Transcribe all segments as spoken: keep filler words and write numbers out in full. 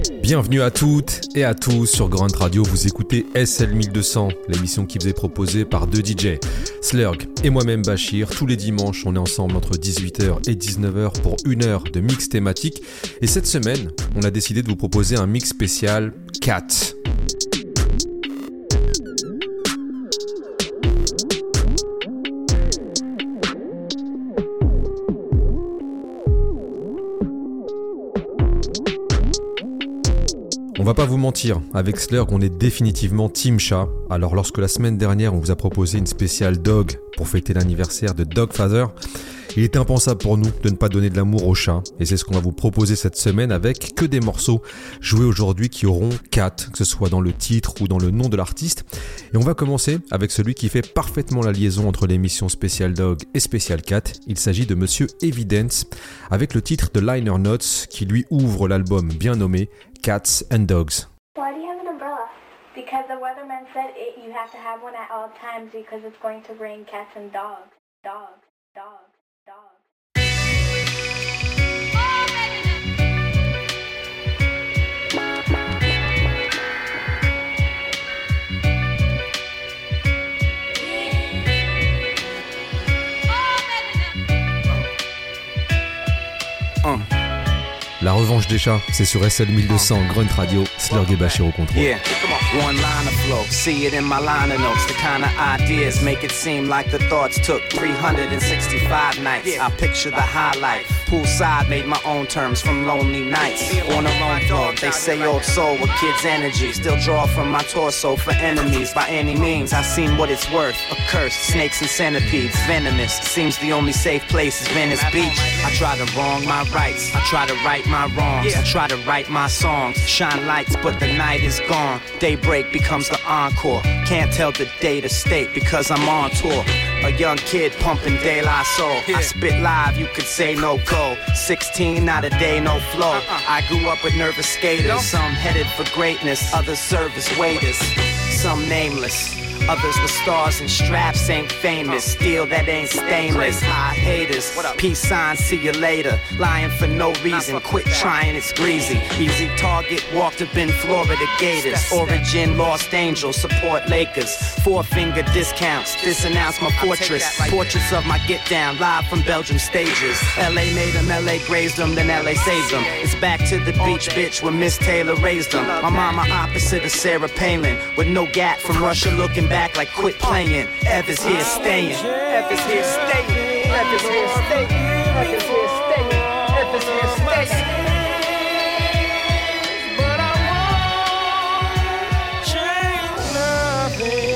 Bienvenue à toutes et à tous sur Grunt Radio, vous écoutez S L mille deux cents, l'émission qui vous est proposée par deux D J, Slurg et moi-même Bachir. Tous les dimanches, on est ensemble entre dix-huit heures et dix-neuf heures pour une heure de mix thématique. Et cette semaine, on a décidé de vous proposer un mix spécial Cat. On va pas vous mentir, avec Slurg, on est définitivement Team Chat. Alors lorsque la semaine dernière, on vous a proposé une spéciale Dog pour fêter l'anniversaire de Dogfather, il était impensable pour nous de ne pas donner de l'amour au chat. Et c'est ce qu'on va vous proposer cette semaine avec que des morceaux joués aujourd'hui qui auront Cat, que ce soit dans le titre ou dans le nom de l'artiste. Et on va commencer avec celui qui fait parfaitement la liaison entre l'émission Special Dog et Special Cat. Il s'agit de Monsieur Evidence, avec le titre de Liner Notes qui lui ouvre l'album bien nommé Cats and Dogs. Why do you have an umbrella? Because the weatherman said it, you have to have one at all times because it's going to rain cats and dogs. Dogs, dogs, dogs. Uh. La revanche des chats, c'est sur S L mille deux cents, Grunt Radio, Slurg et Bachir au contrôle. Yeah, one line of flow, see it in my liner notes. The kind of ideas make it seem like the thoughts took three hundred sixty-five nights. I picture the highlight, poolside made my own terms from lonely nights. On a lone dog, they say old soul with kids' energy. Still draw from my torso for enemies by any means. I've seen what it's worth, a curse, snakes and centipedes, venomous. Seems the only safe place is Venice Beach. I try to wrong my rights, I try to right my wrongs. I try to write my songs, shine lights, but the night is gone. Daybreak becomes the encore. Can't tell the day to state because I'm on tour. A young kid pumping De La Soul. I spit live, you could say no go. sixteen, not a day, no flow. I grew up with nervous skaters. Some headed for greatness, others service waiters. Some nameless. Others with stars and straps ain't famous. Steel that ain't stainless. High haters. Peace sign, see you later. Lying for no reason. Quit trying, it's greasy. Easy target, walked up in Florida Gators. Origin, Lost Angels, support Lakers. Four finger discounts. Disannounce my fortress. Portraits of my get down, live from Belgium stages. L A made them, L A grazed them, then L A saved them. It's back to the beach, bitch, where Miss Taylor raised them. My mama opposite of Sarah Palin. With no gap from Russia looking back like quit playing. Ev is here staying. Ev is here staying. Ev is here staying. Ev is here staying. Ev is here staying. But I won't change nothing.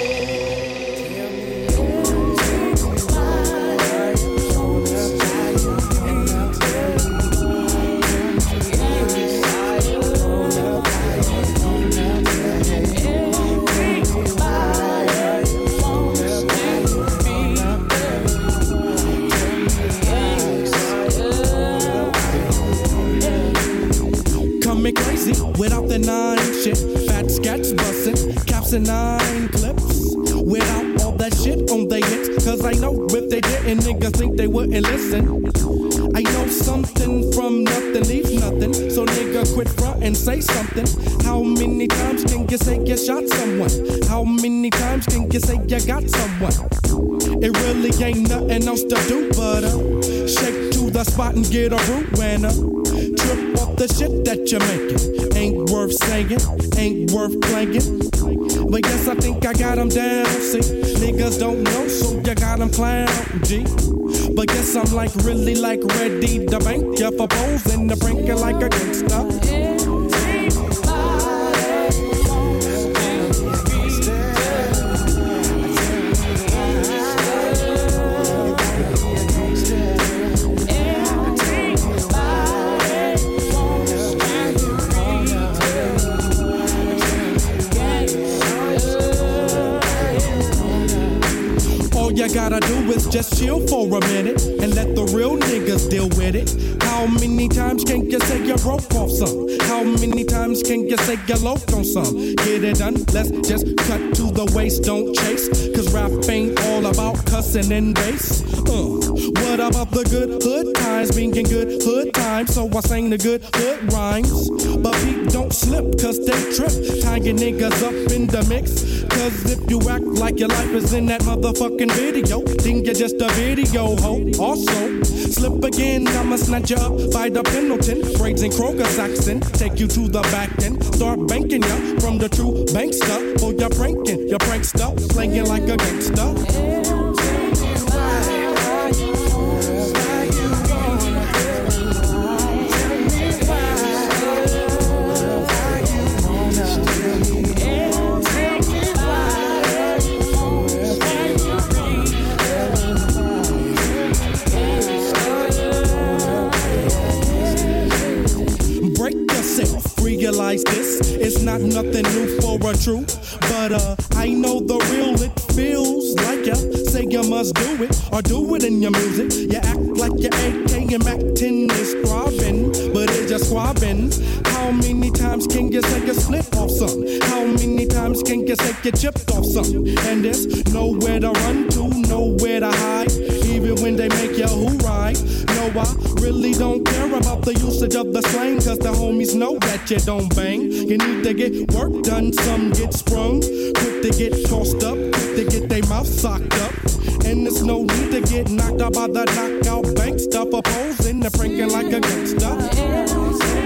Me crazy without the nine shit. Fat scats bustin', caps and nine clips. Without all that shit on they hits. Cause I know if they didn't, niggas think they wouldn't listen. I know something from nothing leaves nothing. So nigga quit front and say something. How many times can you say you shot someone? How many times can you say you got someone? It really ain't nothing else to do but uh, shake to the spot and get a root when uh, trip off the shit that you're making. Ain't worth saying, ain't worth playing. But yes, I think I got them down, see. Niggas don't know, so you got them clown, G. But yes, I'm like really like ready to bank ya for posing the brink like a gangsta. You gotta do is just chill for a minute and let the real niggas deal with it. How many times can you say you broke off some? How many times can you say you loafed on some? Get it done, let's just cut to the waist, don't chase. Cause rap ain't all about cussing and bass. Uh, what about the good hood times? Being good hood times, so I sang the good hood rhymes. But Pete don't sleep cause they trip. Tying niggas up in the mix. Cause if you act like your life is in that motherfucking video, then you're just a video hoe. Also, slip again, I'ma snatch you up by the Pendleton. Braids and Kroger Saxon, take you to the back end. Start banking ya from the true bankster. For your pranking, your prankster, playing like a gangster. Realize this is not nothing new for a true, but uh, I know the real. It feels like ya say you must do it or do it in your music. You act like your A K and Mac ten is squabbing, but it's just squabbing. How many times can you say you slip off something? How many times can you say you chipped off something? And there's nowhere to run to, nowhere to hide, even when they make you who ride. No, I really don't care about the usage of the slang, cause the homies know that you don't bang. You need to get work done, some get sprung, quick to get tossed up, quick to get their mouth socked up. And there's no need to get knocked out by the knockout bank stuff, opposing the pranking like a gangster.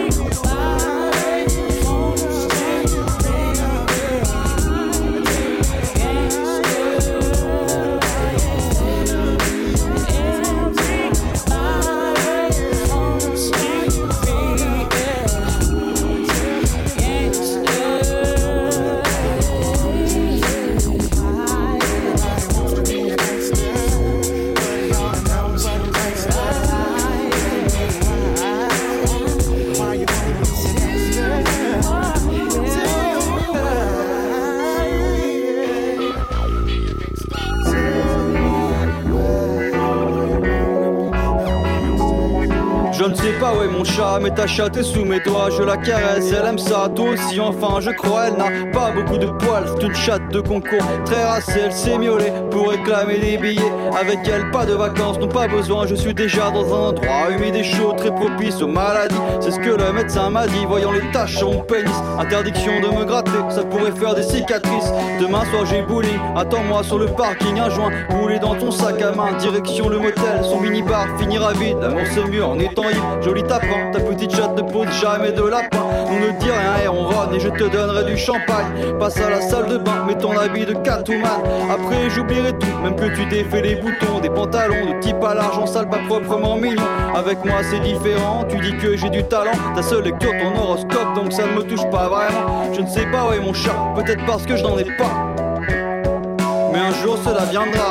Je ne sais pas où est mon chat, mais ta chatte est sous mes doigts. Je la caresse, elle aime ça, toi aussi enfin je crois. Elle n'a pas beaucoup de poils, c'est une chatte de concours. Très racée, elle s'est miaulée pour réclamer des billets. Avec elle, pas de vacances, non pas besoin. Je suis déjà dans un endroit humide et chaud, très propice aux maladies. C'est ce que le médecin m'a dit, voyant les taches sur mon pénis. Interdiction de me gratter, ça pourrait faire des cicatrices. Demain soir j'ai bowling, attends-moi sur le parking. Un joint roulé dans ton sac à main, direction le motel. Son minibar finira vide, l'amour c'est mieux en étant libre. Joli tapin, ta petite chatte ne pose jamais de lapin. On ne dit rien et on ronne et je te donnerai du champagne. Passe à la salle de bain, mets ton habit de Catwoman. Après j'oublierai tout, même que tu défais les boutons. Des pantalons de type à l'argent sale, pas proprement mignon. Avec moi c'est différent, tu dis que j'ai du talent. Ta seule lecture ton horoscope, donc ça ne me touche pas vraiment. Je ne sais pas où est mon chat, peut-être parce que je n'en ai pas. Mais un jour cela viendra.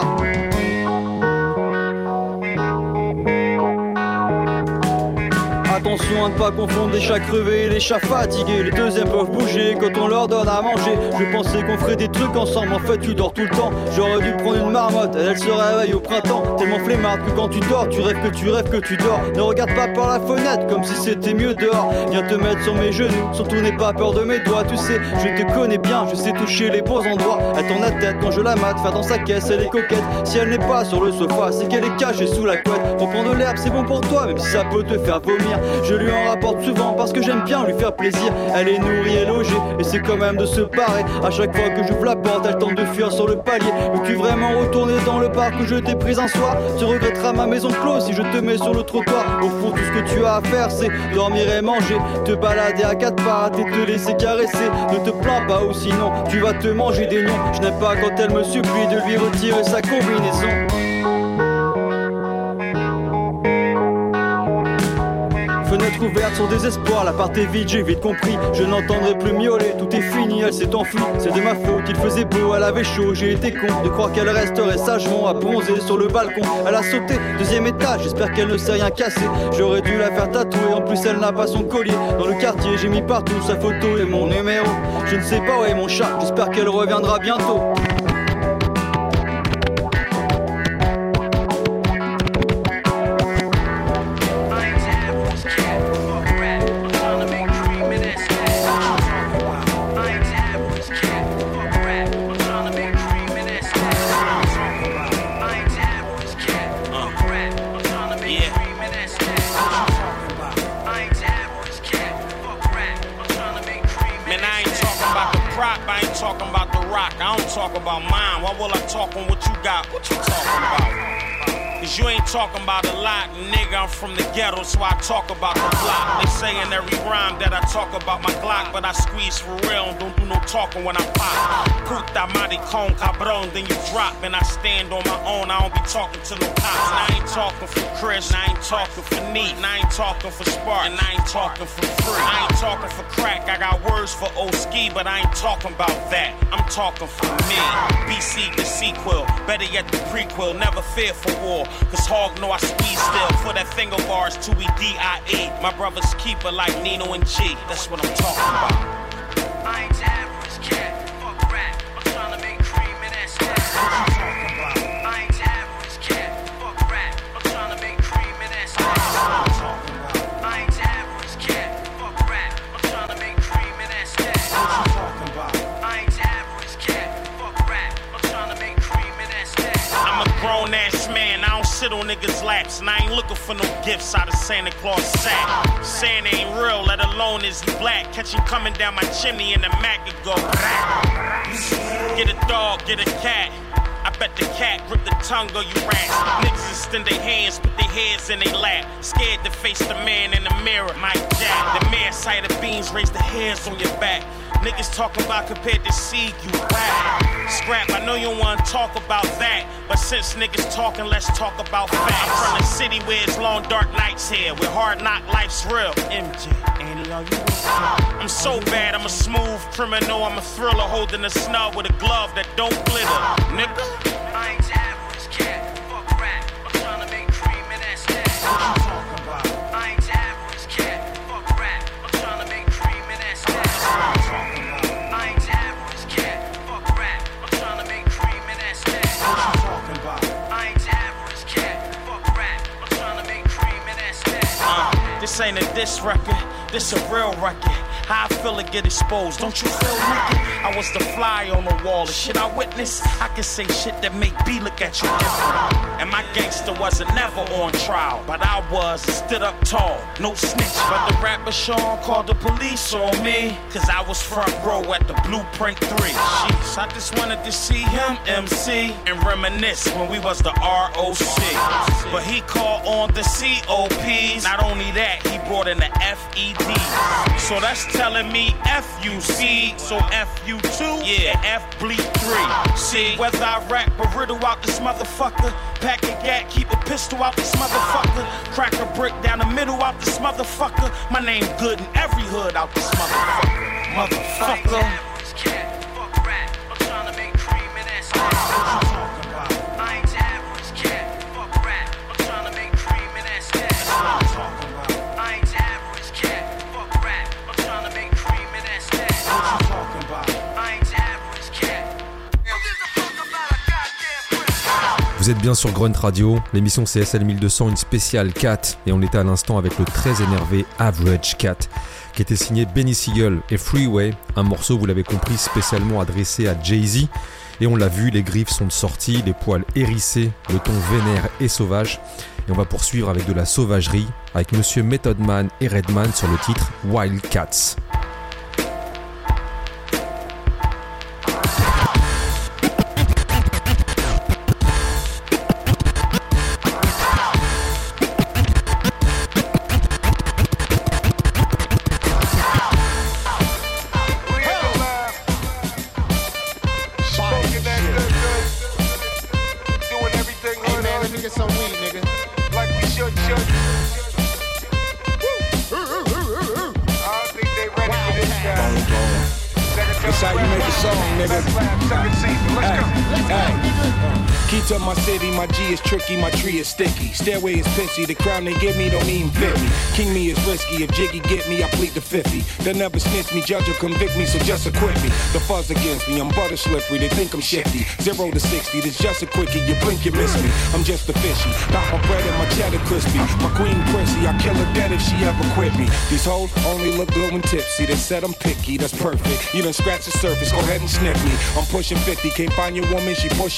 Attention à ne pas confondre les chats crevés et les chats fatigués. Les deuxièmes peuvent bouger quand on leur donne à manger. Je pensais qu'on ferait des trucs ensemble, en fait tu dors tout le temps. J'aurais dû prendre une marmotte, elle, elle se réveille au printemps. Tellement flemmarde que quand tu dors, tu rêves que tu rêves que tu dors. Ne regarde pas par la fenêtre comme si c'était mieux dehors. Viens te mettre sur mes genoux, surtout n'aie pas peur de mes doigts. Tu sais, je te connais bien, je sais toucher les beaux endroits. Elle tourne la tête quand je la mate, faire dans sa caisse, elle est coquette. Si elle n'est pas sur le sofa, c'est qu'elle est cachée sous la couette. Reprends de l'herbe, c'est bon pour toi, même si ça peut te faire vomir. Je lui en rapporte souvent parce que j'aime bien lui faire plaisir. Elle est nourrie et logée et c'est quand même de se parer. À chaque fois que j'ouvre la porte, elle tente de fuir sur le palier. Veux-tu vraiment retourner dans le parc où je t'ai prise un soir? Tu regretteras ma maison close si je te mets sur le trottoir. Au fond tout ce que tu as à faire c'est dormir et manger, te balader à quatre pattes et te laisser caresser. Ne te plains pas ou sinon tu vas te manger des nions. Je n'aime pas quand elle me supplie de lui retirer sa combinaison. Fenêtre ouverte sur désespoir, l'appart est vide, j'ai vite compris. Je n'entendrai plus miauler, tout est fini, elle s'est enfuie. C'est de ma faute, il faisait beau, elle avait chaud, j'ai été con de croire qu'elle resterait sagement à bronzer sur le balcon. Elle a sauté, deuxième étage, j'espère qu'elle ne s'est rien cassé. J'aurais dû la faire tatouer, en plus elle n'a pas son collier. Dans le quartier j'ai mis partout sa photo et mon numéro. Je ne sais pas où est mon chat, j'espère qu'elle reviendra bientôt. crop, I ain't talking about the rock. I don't talk about mine. Why will I talk on what you got? What you talking about? Cause you ain't talking about a lot, nigga, I'm from the ghetto, so I talk about the block. They say in every rhyme that I talk about my Glock, but I squeeze for real and don't do no talking when I pop. Puta maricon, cabron, then you drop, and I stand on my own, I don't be talking to no cops. And I ain't talking for Chris, and I ain't talking for Neat, and I ain't talking for Spark, and I ain't talking for free. I ain't talking for crack, I got words for Oski, but I ain't talking about that, I'm talking for me. B C the sequel, better yet the prequel, never fear for war. Cause Hog know I speed still for that thing of ours to be D I E. My brother's keeper like Nino and G. That's what I'm talking about. I ain't the average cat. Fuck rap. I'm trying to make cream in that stack. What you talking about? I ain't the average cat. Fuck rap. I'm trying to make cream in that stack. What you talking about? I ain't the average cat. Fuck rap. I'm trying to make cream in that stack. What you talking about? I ain't the average cat. Fuck rap. I'm trying to make cream in that stack. I'm a grown ass man. I don't sit on niggas' laps, and I ain't looking for no gifts out of Santa Claus sack. Santa ain't real, let alone is he black. Catch him coming down my chimney in the Mac and go get a dog, get a cat. I bet the cat grip the tongue of you rats. Niggas extend their hands, put their heads in their lap. Scared to face the man in the mirror, Mike Jack. The man side of beans, raise the hairs on your back. Niggas talking about compared to seed, you whack. Scrap, I know you don't wanna talk about that, but since niggas talking, let's talk about facts. I'm from the city where it's long dark nights here, where hard knock life's real. M J, Annie, are you with me? I'm so bad, I'm a smooth criminal, I'm a thriller holding a snub with a glove that don't glitter. Nigga, I ain't the average cat. Fuck rap, I'm trying to make cream in that stack. What you talking about? I ain't the average cat. Fuck rap, I'm trying to make cream in that stack. What you talking about? I ain't the average cat. Fuck rap, I'm trying to make cream in that stack. What you talking about? I ain't the average cat. Fuck rap, I'm trying to make cream in that stack. Uh, this ain't a diss record, this a real record. How I feel to get exposed, don't you feel naked? I was the fly on the wall, the shit I witnessed. I can say shit that make B look at you different. And my gangster wasn't never on trial, but I was, stood up tall, no snitch. But the rapper Sean called the police on me, cause I was front row at the Blueprint three. Jeez, I just wanted to see him M C and reminisce when we was the R O C. But he called on the C O Ps, not only that, he brought in the F E Ds. So that's telling me F U C, so F U two, yeah, F bleed three. See, whether I rap or riddle out this motherfucker, pack a gat, keep a pistol out this motherfucker, crack a brick down the middle out this motherfucker, my name good in every hood out this motherfucker, motherfucker. Vous êtes bien sur Grunt Radio, l'émission C S L mille deux cents, une spéciale Cat, et on était à l'instant avec le très énervé Average Cat, qui était signé Benny Siegel et Freeway, un morceau, vous l'avez compris, spécialement adressé à Jay-Z, et on l'a vu, les griffes sont sorties, les poils hérissés, le ton vénère et sauvage, et on va poursuivre avec de la sauvagerie, avec Monsieur Method Man et Redman sur le titre Wildcats. To my city, my G is tricky, my tree is sticky. Stairway is pissy, the crown they give me don't even fit me. King me is risky, if Jiggy get me, I plead the fifty. They'll never snitch me, judge will convict me, so just acquit me. The fuzz against me, I'm butter slippery, they think I'm shifty. Zero to sixty, this just a quickie, you blink, you miss me. I'm just a fishy, got my bread and my cheddar crispy. My queen prissy, I kill her dead if she ever quit me. These hoes only look good when tipsy, they said I'm picky, that's perfect. You done scratch the surface, go ahead and sniff me. I'm pushing fifty, can't find your woman, she pushing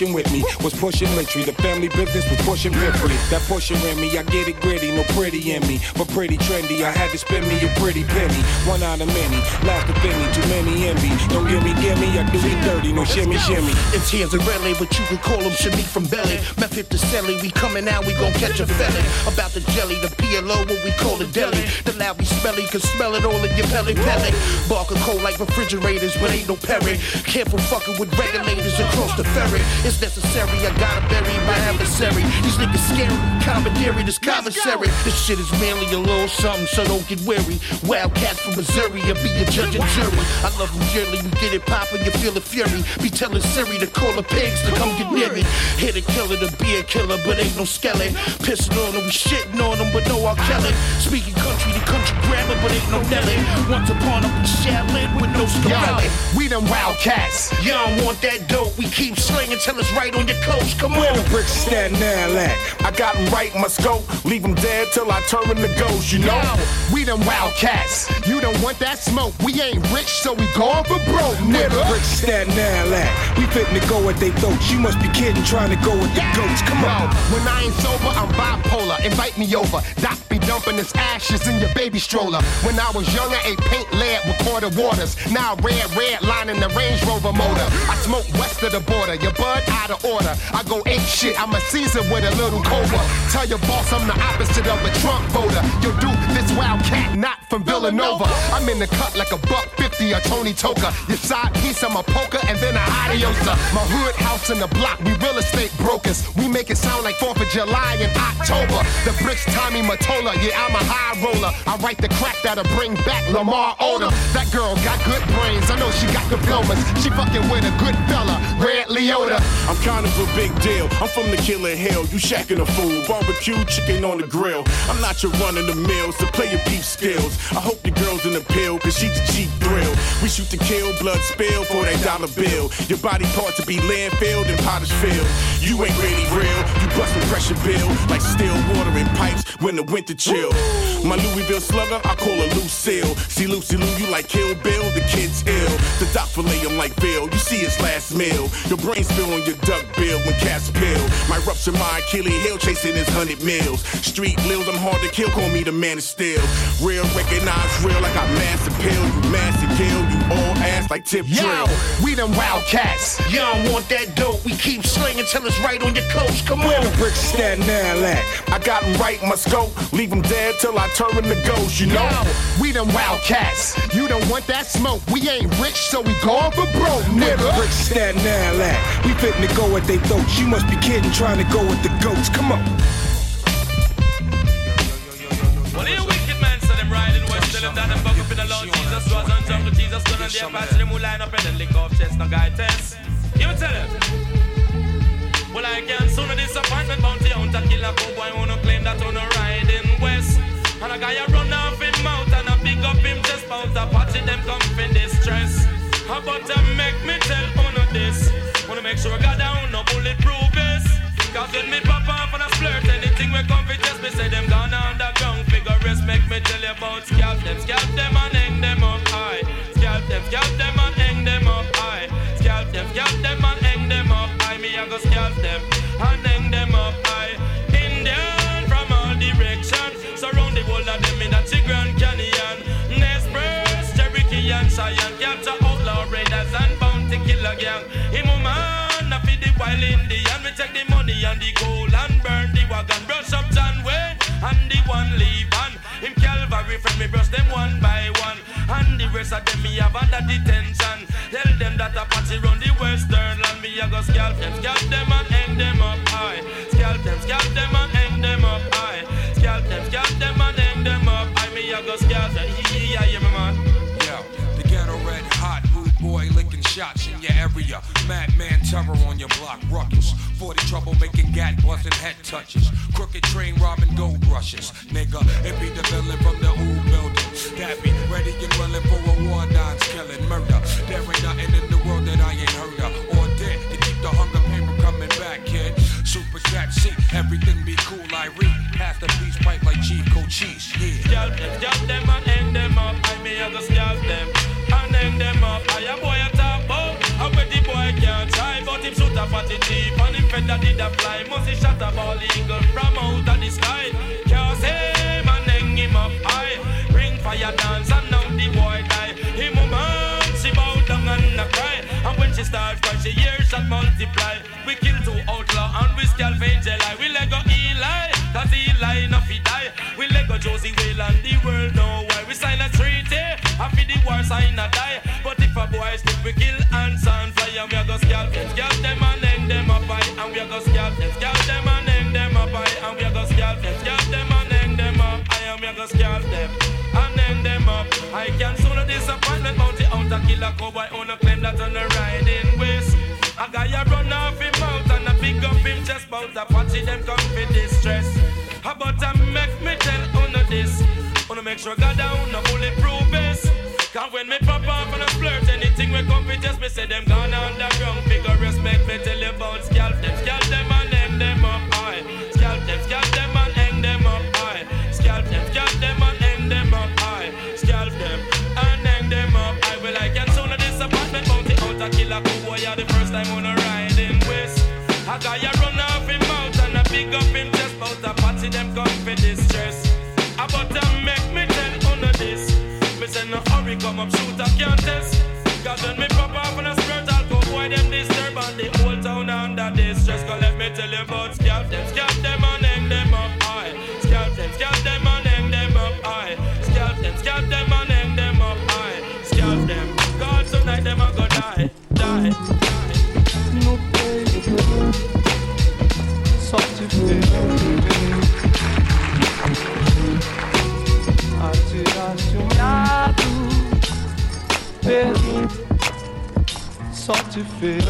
pushing with me was pushing Lintry. The family business was pushing Biffrey. That pushing in me, I get it gritty, no pretty in me, but pretty trendy. I had to spend me a pretty penny. One out of many, last to me, too many envy. Don't give me, give me, I do me dirty, no shimmy, shimmy. It's here's a relay, but you can call him Shimmy from Belly. Method to Selly, we coming out, we gon' catch a felon. About the jelly, the P L O, what we call the deli. The loud we smelly, can smell it all in your belly belly. Barker cold like refrigerators, but ain't no Perry. Careful fucking with regulators across the ferry. It's necessary, I gotta bury my adversary. These niggas scary, commentary, this commissary. This shit is merely a little something, so don't get weary. Wildcats from Missouri, I'll be a judge and jury. I love them dearly, we get it poppin', you feel the fury. Be telling Siri to call the pigs to come get near me. Hit a killer to be a killer, but ain't no skeleton. Pissing on them, we shitting on them, but no R. Kelly. Speaking country to country grammar, but ain't no Nelly. Once upon a Shaolin with no Scarelli. We them wildcats. You don't want that dope, we keep slinging till it's right on your coast. Come on. Where the bricks stand now at? I got them right in my scope. Leave them dead till I turn them to ghosts, you know? Yo, we them wildcats. You don't want that smoke. We ain't rich, so we going for broke, nigga. Where the bricks stand now at? We fitting to go at they throats. You must be kidding, trying to go with the goats. Come on. When I ain't sober, I'm bipolar. Invite me over. Doc be dumping his ashes in your baby stroller. When I was younger, ate paint lead with quarter waters. Now red, red line in the Range Rover motor. I smoke west of the border. Your bud out of order. I go ape shit. I'm a Caesar with a little cobra. Tell your boss I'm the opposite of a Trump voter. Yo, dude, this wildcat not from Villanova. I'm in the cut like a buck fifty or Tony Toka. Your side piece, I'm a poker and then a adiosa. My hood house in the block. We real estate brokers. We make it sound like fourth of July in October. The bricks Tommy Mottola. Yeah, I'm a high roller. I write the crack that'll bring back Lamar Odom. That girl got good brains. I know she got diplomas. She fucking with a good fella. Red Leota. I'm kind of a big deal. I'm from the killer hill. You shacking a fool. Barbecue chicken on the grill. I'm not your run of the mill, so play your beef skills. I hope your girl's in the pill, cause she's a cheap thrill. We shoot to kill, blood spill for that dollar bill. Your body part to be landfilled and potter's filled. You ain't really real. You bustin' pressure bill like still water in pipes when the winter chill. My Louisville slugger, I call her Lucille. See Lucy Lou, you like Kill Bill, the kid's ill. The doc fillet him like Bill, you see his last meal. Your brain spill on your duck bill when cats pill. My rupture my Achilles heel chasing his hundred mils. Street lils, I'm hard to kill, call me the man of steel. Real, recognize real, like I mass appeal. You mass and kill, you all ass like tip Yo, drill. we them wildcats. You don't want that dope, we keep slinging till it's right on your coast. Come Where on. the bricks stand now at? I got them right in my scope. Leave them dead till I turn them to ghosts, you know? Yo, we them wildcats. You don't want that smoke. We ain't rich, so we going for broke, Where the nigga. bricks stand now at? We fitting to go at they throats. You must be kidding, trying to go with the goats. Come on. Well, you wicked man, so them riding west, tell them that them buck up in the Lord Jesus was on jungle Jesus, gun and the Apache, them who line up and then lick off chest, no guy test. You tell them. Well, I can't soon a disappointment, bounty hunter, killer, cowboy, wanna claim that on a riding west. And a guy a run off him mouth and a pick up him chest, bout Apache, them come in distress. How about to make me tell on this? Wanna make sure I got down, no bulletproof vest. Cause when me pop off and I flirt, anything we come for just me say them gone underground. Figure rest, make me tell you about scalp them, scalp them and hang them up high. Scalp them, scalp them and hang them up high. Scalp them, scalp them and hang them up high. Me I go scalp them and hang them up high. Indian from all directions, surround the whole of them in that Grand Canyon. Nez Perce, Cherokee and Cheyenne, capture outlaw raiders and bounty killer gang. Him a man, I feed the wild Indian. We take the money and the gold and burn the wagon. Brush up John Wayne and the one leave on. Him Calvary friend me brush them one by one. And the rest of them me have under detention. Tell them that Apache run the western land. Me a go scalp them, scalp them and hang them up high. Scalp them, scalp them and hang them up high. Scalp them, scalp them and hang them up high. Me a go scalp them, yeah, yeah, my man. Yo, the ghetto red hot, rude boy licking shots in your area. Madman terror on your block, ruckus. forty trouble making gat busting head touches. Crooked train robbing gold rushes. Nigga, it be the villain from the old building. That be ready and willing for a war, nines killing murder. There ain't nothing in the world that I ain't heard of or did to keep the hunger pain from coming back, kid. Super cat seat, everything be cool. I read past the peace pipe like Chief Cochise. Yeah. Scalp them, scalp them and hang them up. I may have to scalp them and hang them up. I a boy a top out. I bet the boy can't try, but him shoot a fatty thief and him feather did a fly. Must he shot a ball eagle from out of the sky. Can't say man hang him up high. Bring fire dance and now the boy die. Him a man, she bow down and a cry. And when she starts cry, she hears shot multiply. We kill two outlaw and we scalp Angel Eye. We let go Eli, cause Eli enough he die. We let go Josie Whale and the world know why. We sign a treaty, after the war sign a die. But if a boy slip, we kill ants and fly. And we a go scalp them, scalp them and hang them up high. And we a go scalp them, scalp them and hang them up high. And we a go scalp them, scalp them and hang them up high. And we a go scalp them and hang them up. I can soon a disappointment, bounty out and kill a cowboy. On a claim that on the riding waist. A guy a run off him mouth and a pick up him chest. Bout a patchy them come for distress. How about a make me tell uno this? Uno make sure God down no bulletproof vest. Cause when me pop off and a flirt, anything we come with just me say them gone underground. Figure respect me tell you about scalp them, scalp them and hang them up high. Scalp them, scalp them and hang them up high. Scalp them, scalp them and hang them up high. Scalp them and hang them up high. Well I can soon a disappointment bounty out a killer cowboy. The first time on a riding west. A guy a run off him mouth and a pick up him chest. Bout a party them come for distress. About to make me tell uno this. Me say no hurry come up shoot a can't test. Cause when me pop off on a skirt I'll go boy them disturb. And the whole town under distress. Cause let me tell you about scalp them, scalp them and hang them up high. Scalp them, scalp them and hang them up high. Scalp them, scalp them and hang them up high. Scalp them, God tonight them a go die, die. No baby, sorti Atiracionado pelo só te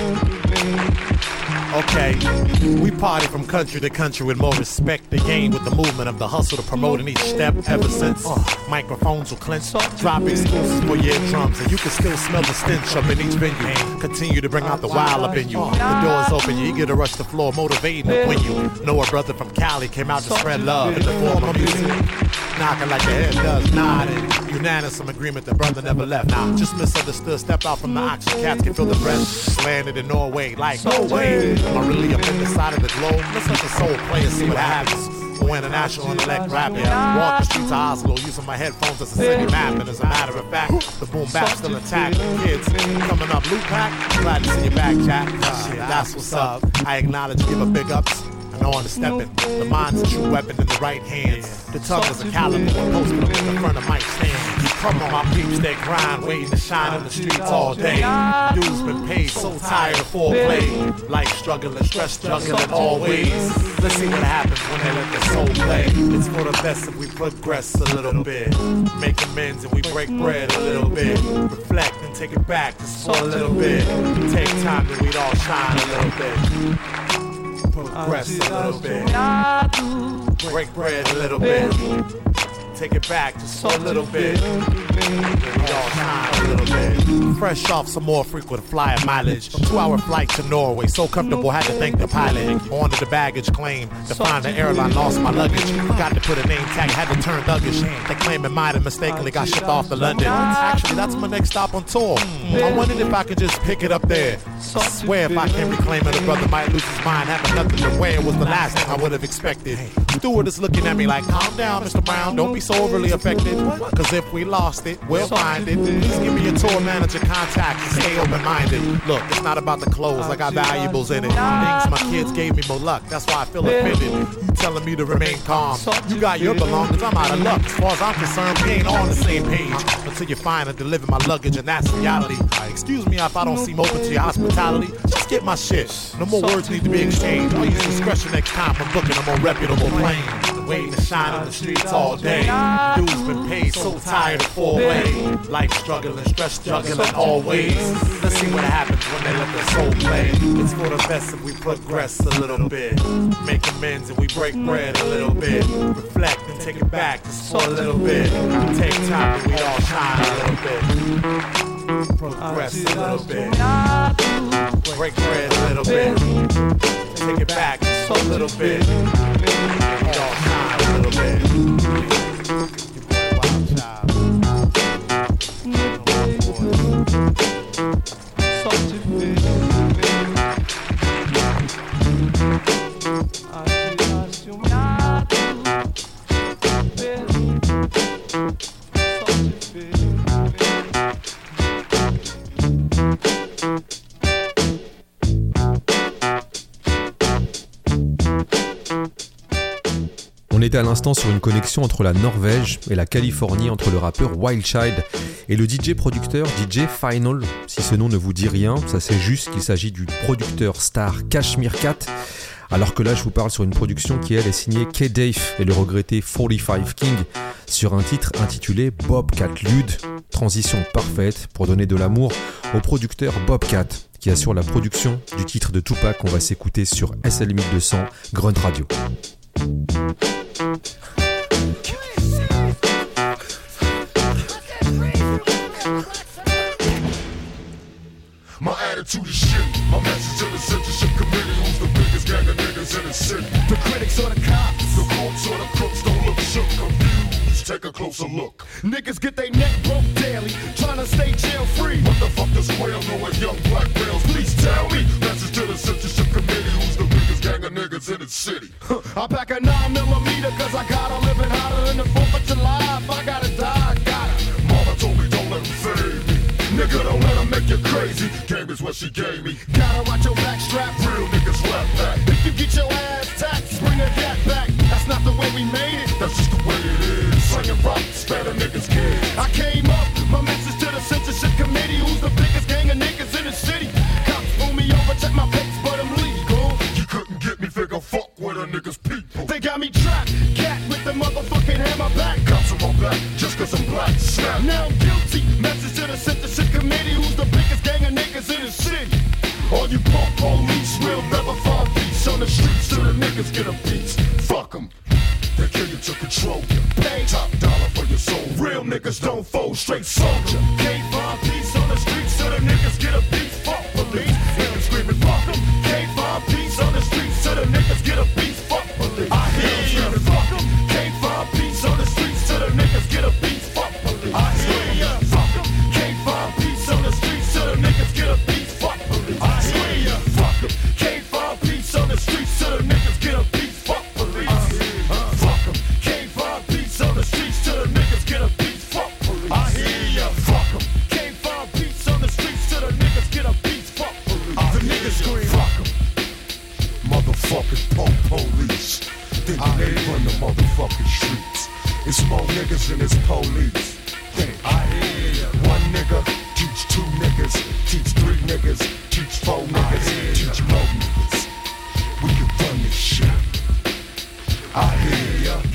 ver. Okay, we party from country to country with more respect to gain with the movement of the hustle to promote in each step. Ever since uh, microphones will clench, drop exclusives for your drums, and you can still smell the stench up in each venue. Continue to bring out the wild up in you. The doors open, you eager to rush the floor, motivating to win you. Know a brother from Cali came out to spread love in the form of music. Knocking like your head does, nodding. Unanimous agreement, the brother never left. Now, just misunderstood, step out from the oxygen cats can feel the breath. Landed in Norway, like, no way. Am I really up in the side of the globe? Let's let the soul play and see what happens. When a national intellect rap, yeah. Walk the streets of Oslo using my headphones as a city map. And as a matter of fact, the boom bap still intact. Kids coming up, loot pack. Glad to see you back, Jack. Uh, shit, that's what's up. I acknowledge, give a big ups. I know on the stepping. The mind's a true weapon in the right hands. The tongue is a caliber when posted up in the front of my stand. Come on, my peeps that grind, waiting to shine in the streets all day. Dudes been paid, so tired of foreplay. Life struggling, stress juggling always. Let's see what happens when they let the soul play. It's for the best if we progress a little bit. Make amends and we break bread a little bit. Reflect and take it back just for a little bit. Take time that we'd all shine a little bit. Progress a little bit. Break bread a little bit. Take it back just for a little bit. We all shine a little bit. Fresh off some more frequent flyer mileage. Two hour flight to Norway. So comfortable, had to thank the pilot. On to the baggage claim. To find the airline, lost my luggage. Forgot to put a name tag, had to turn thuggish. They claim it might have mistakenly got shipped off to London. Actually, that's my next stop on tour. I wondered if I could just pick it up there. I swear if I can't reclaim it, a brother might lose his mind. Having nothing to wear was the last thing I would have expected. Steward is looking at me like, calm down, Mister Brown, don't be so overly affected. Cause if we lost it, we'll find it. Please give me your tour manager contact and stay open-minded. Look, it's not about the clothes, I got valuables in it. Things my kids gave me more luck, that's why I feel offended. You telling me to remain calm. You got your belongings, I'm out of luck. As far as I'm concerned, we ain't on the same page. Until you find and deliver my luggage, and that's reality. Excuse me if I don't seem open to your hospitality. Just get my shit. No more words need to be exchanged. I'll use discretion next time when booking a more reputable plane. Waiting to shine on the streets all day. Dudes been paid, so tired of foreplay. Life struggling, stress juggling always. Let's see what happens when they let the soul play. It's for the best if we progress a little bit. Make amends and we break bread a little bit. Reflect and take it back just for a little bit. Take time and we all shine a little bit. Progress a little bit. Break bread a little bit. Take it back just a little bit. We all shine a little bit. était à l'instant sur une connexion entre la Norvège et la Californie, entre le rappeur Wild Child et le D J-producteur D J Final. Si ce nom ne vous dit rien, ça c'est juste qu'il s'agit du producteur star Kashmir Cat. Alors que là, je vous parle sur une production qui, elle, est signée K-Dave et le regretté quarante-cinq King sur un titre intitulé Bobcat Lude. Transition parfaite pour donner de l'amour au producteur Bobcat qui assure la production du titre de Tupac qu'on va s'écouter sur S L mille deux cents Grunt Radio. My attitude is shit. My message to the censorship committee, who's the biggest gang of niggas in the city. The critics or the cops, the cops or the crooks, don't look shook, confused. Take a closer look. Niggas get they neck broke daily, trying to stay jail free. What the fuck does quail know what young black males? Please tell me. Message to the censorship committee, who's the biggest gang of niggas in the city. I pack a nine millimeter cause I gotta live it hotter than the fourth of July. If I gotta die, I gotta. Mama told me don't let them fade me. Nigga, don't let them make you crazy. Game is what she gave me. Gotta watch your back strap. Real niggas rap back. If you get your ass taxed, bring a gat back. That's not the way we made it. That's just the way it is. Slinging rocks, better niggas kids. I came up, my message to the censorship committee. Who's the biggest gang of niggas in the city? Cops pull me over, check my papers, but I'm legal. You couldn't get me, figure fuck with a nigga's people. They got me trapped, cat with the motherfucking hammer back. Cops on my back, just cause I'm black. Snap. Now I'm guilty. Message to the censorship committee. Who's the biggest gang of niggas in the city? All you punk police will never find peace on the streets till the niggas get a piece. Fuck them. They kill you to control you. Pay top dollar for your soul. Real niggas don't fold, straight soldier. Can't find peace on the streets till the niggas get a piece. Fuck police. Hear them screaming, fuck them. Can't find peace on the streets till the niggas get a piece. Fuck police. I hear them screaming, fuck them. Can't find peace on the streets till the niggas get a piece. Fuck police. I hear ya. Fuck them. Can't find peace on the streets till the niggas get a piece. Fuck police. I hear ya. Fuck them. Can't find peace on the streets till the niggas get a piece. Fuck police. Fuck them. Can't find peace on the streets till the niggas get a piece. Fuck police. I hear ya. Fuck them. Can't find peace on the streets till the niggas get a piece. Fuck police. The niggas scream. Fuck them. Motherfucking punk police. Think they run the motherfucking streets. It's more niggas than it's police. I hear ya. One nigga teach two niggas, teach three niggas, teach four niggas, teach more niggas. We can run this shit. I hear ya.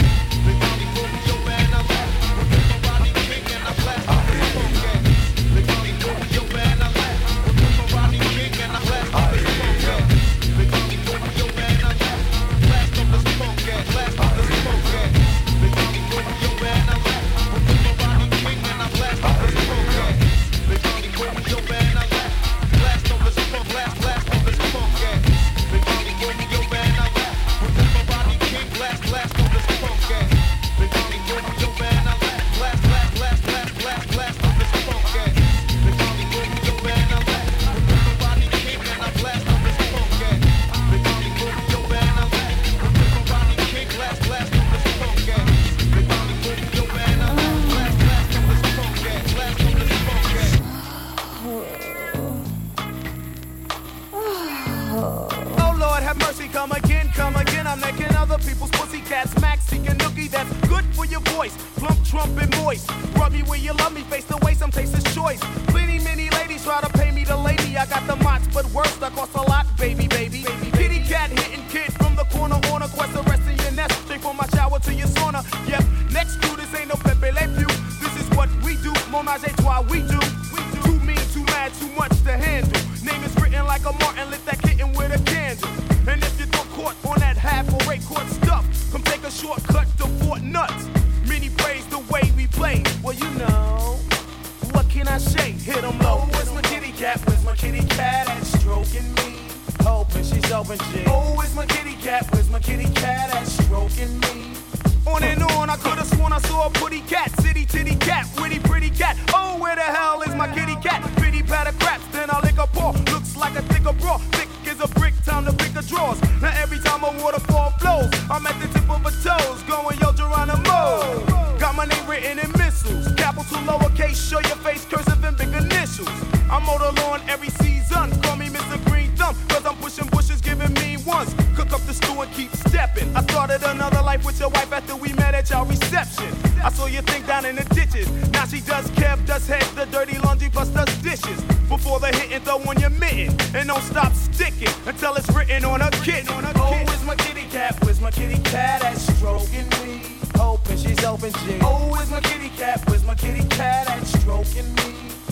Every season, call me Mister Green Thumb, cause I'm pushing bushes, giving me ones. Cook up the stew and keep stepping. I started another life with your wife after we met at y'all reception. I saw your thing down in the ditches. Now she does Kev, does heads, the dirty laundry, plus does dishes. Before the hitting, throw on your mitten. And don't stop sticking until it's written on a kitten. Oh, where's my kitty cat? Where's my kitty cat that's stroking me? Hoping she's open G. Oh, where's my kitty cat? Where's my kitty cat that's stroking me?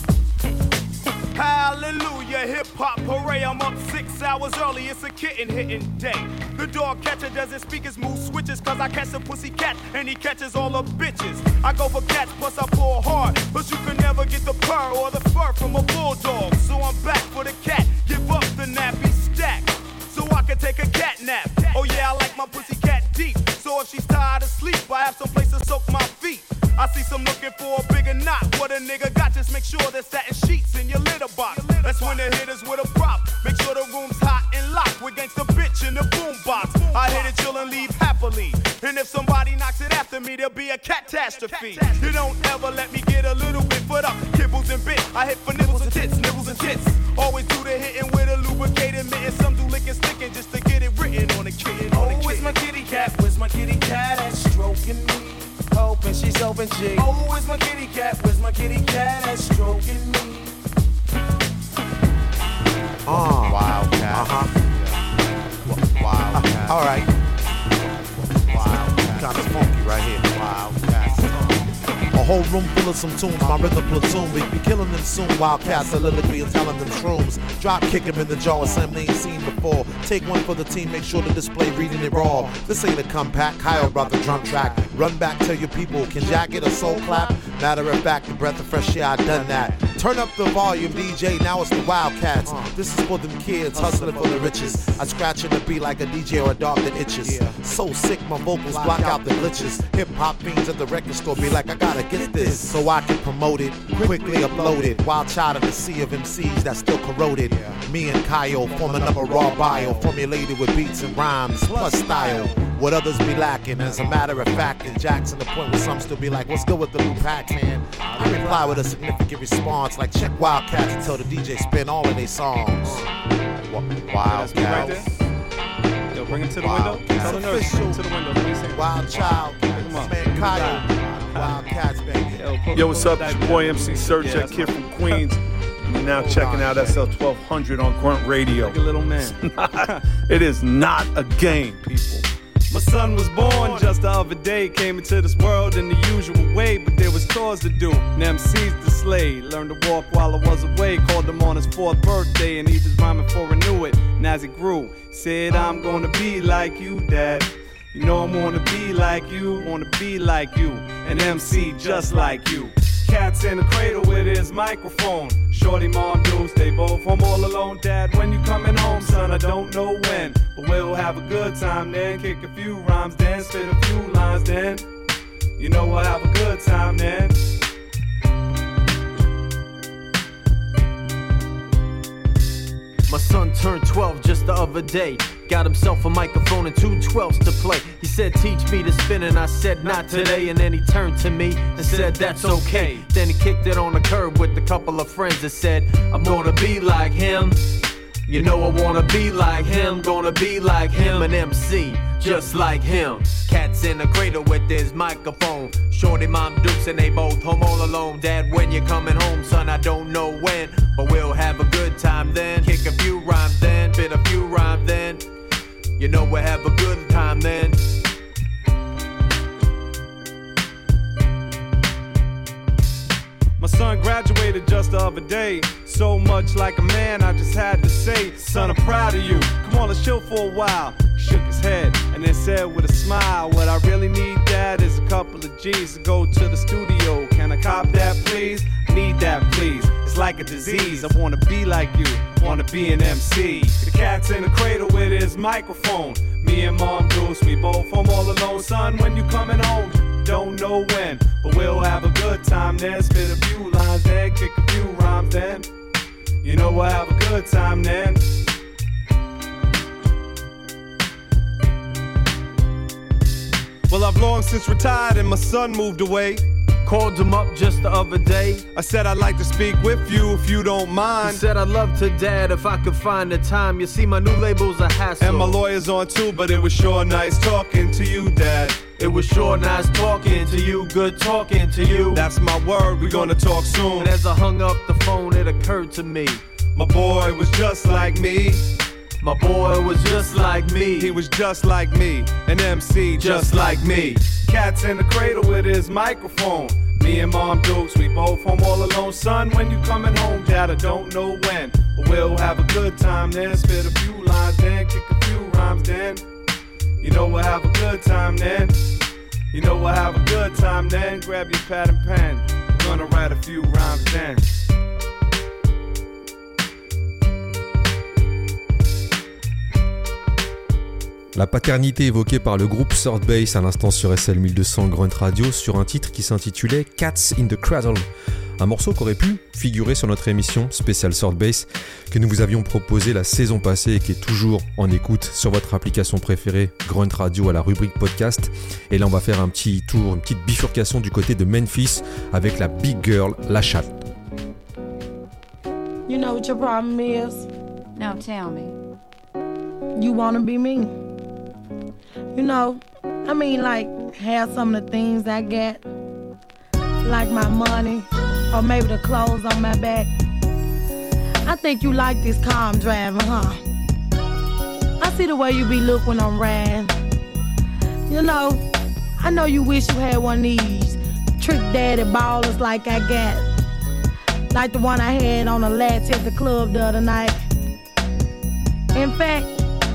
Hallelujah, hip-hop parade. I'm up six hours early, it's a kitten hitting day. The dog catcher doesn't speak his mood switches, cause I catch the pussy cat and he catches all the bitches. I go for cats, plus I pull hard, but you can never get the purr or the fur from a bulldog. So I'm back for the cat, give up the nappy stack, so I can take a cat nap. Oh yeah, I like my pussy cat deep, so if she's tired of sleep, I have some place to soak my feet. I see some looking for a bigger knot. What a nigga got, just make sure there's satin sheets in your litter box. That's when the hitters with a prop. Make sure the room's hot and locked with gangsta bitch in the boombox. I hit it chill and leave happily. And if somebody knocks it after me, there'll be a catastrophe. You don't ever let me get a little bit foot up. Kibbles and bit, I hit for nibbles and tits, nibbles and tits. Always do the hitting with a lubricated mitten. Some do licking sticking just to get it written on the kitten. Oh, where's my kitty cat? Where's my kitty cat that's stroking me? Hoping she's open G. Oh, where's my kitty cat? Where's my kitty cat that's stroking me? Oh, Wildcat. Uh-huh. Wildcat. Uh, all right. Wildcat. Kind of funky right here. Wildcat. A whole room full of some tunes, my rhythm platoon. We be killing them soon, wildcats, soliloquy and telling them shrooms. Drop kick them in the jaw, assembly ain't seen before. Take one for the team, make sure the display reading it raw. This ain't a comeback, Kyle brought the drum track. Run back, tell your people, can Jack get a soul clap? Matter of fact, the breath of fresh air, I done that. Turn up the volume, D J, now it's the Wildcats. This is for them kids, hustling for the riches. I scratch in the beat like a D J or a dog that itches. So sick, my vocals block out the glitches. Hip-hop fiends at the record store be like, I gotta get this, so I can promote it, quickly upload it. Wild child in the sea of M Cs that's still corroded. Me and Kyle forming up a raw bio, formulated with beats and rhymes, plus style. What others be lacking, as a matter of fact, in Jackson, the point where some still be like, what's good with the new packs, man? I reply with a significant response, like check Wildcats until the D J spin all of their songs. Wildcats. Right Yo, bring him to the window. Tell the nurse, bring him to the window. Let me see. Wild Child, man, Kyle, Wildcats, baby. Yo, what's up? It's your boy M C Search, Yeah, that kid from Queens. You're now checking out S L twelve hundred on Grunt Radio. Like a little man. It is not a game, people. My son was born just the other day. Came into this world in the usual way, but there was chores to do. And M Cs to slay. Learned to walk while I was away. Called him on his fourth birthday, and he was rhyming for I knew it. And as he grew, said, I'm gonna be like you, Dad. You know I wanna be like you, wanna be like you, an M C just like you. Cats in the cradle with his microphone. Shorty, mom, dudes, they both home all alone. Dad, when you coming home, son, I don't know when, but we'll have a good time then. Kick a few rhymes then, spit a few lines then. You know we'll have a good time then. My son turned twelve just the other day. Got himself a microphone and two twelves to play. He said, teach me to spin, and I said, not today. And then he turned to me and said, that's okay. Then he kicked it on the curb with a couple of friends that said, I'm gonna be like him. You know I wanna be like him, gonna be like him, an M C, just like him. Cats in the cradle with his microphone. Shorty, mom, dukes, and they both home all alone. Dad, when you're coming home, son, I don't know when, but we'll have a good time then. Kick a few rhymes then, bit a few rhymes then. You know we'll have a good time then. My son graduated just the other day. So much like a man, I just had to say, son, I'm proud of you. Come on, let's chill for a while. He shook his head and then said with a smile, what I really need, Dad, is a couple of G's to go to the studio. Can I cop that, please? Need that, please. It's like a disease. I wanna be like you, wanna be an M C. The cat's in the cradle with his microphone. Me and Mom Goose, we both home all alone. Son, when you coming home? Don't know when, but we'll have a good time then. Spit a few lines then, kick a few rhymes then. You know we'll have a good time then. Well, I've long since retired and my son moved away. Called him up just the other day. I said I'd like to speak with you if you don't mind. He said I'd love to, Dad, if I could find the time. You see, my new label's a hassle. And my lawyer's on too, but it was sure nice talking to you, Dad. It was sure nice talking to you, good talking to you. That's my word, we gonna talk soon. And as I hung up the phone, it occurred to me, my boy was just like me. My boy was just like me. He was just like me, an M C just, just like me. Cat's in the cradle with his microphone. Me and Mom Dukes, we both home all alone. Son, when you coming home, Dad, I don't know when. But we'll have a good time then, spit a few lines then, kick a few rhymes then. You know we'll have a good time then. You know we'll have a good time then. Grab your pad and pen, we're gonna write a few rhymes then. La paternité évoquée par le groupe Third Base à l'instant sur S L mille deux cents Grunt Radio sur un titre qui s'intitulait Cats in the Cradle. Un morceau qui aurait pu figurer sur notre émission spéciale Third Base que nous vous avions proposé la saison passée et qui est toujours en écoute sur votre application préférée Grunt Radio à la rubrique podcast. Et là on va faire un petit tour, une petite bifurcation du côté de Memphis avec la Big Girl, La Chatte. You know what your problem is? Now tell me. You wanna be me. You know, I mean, like, have some of the things I get, like my money, or maybe the clothes on my back. I think you like this car I'm driving, huh? I see the way you be look when I'm riding. You know, I know you wish you had one of these trick daddy ballers like I got, like the one I had on the latch at the club the other night. In fact,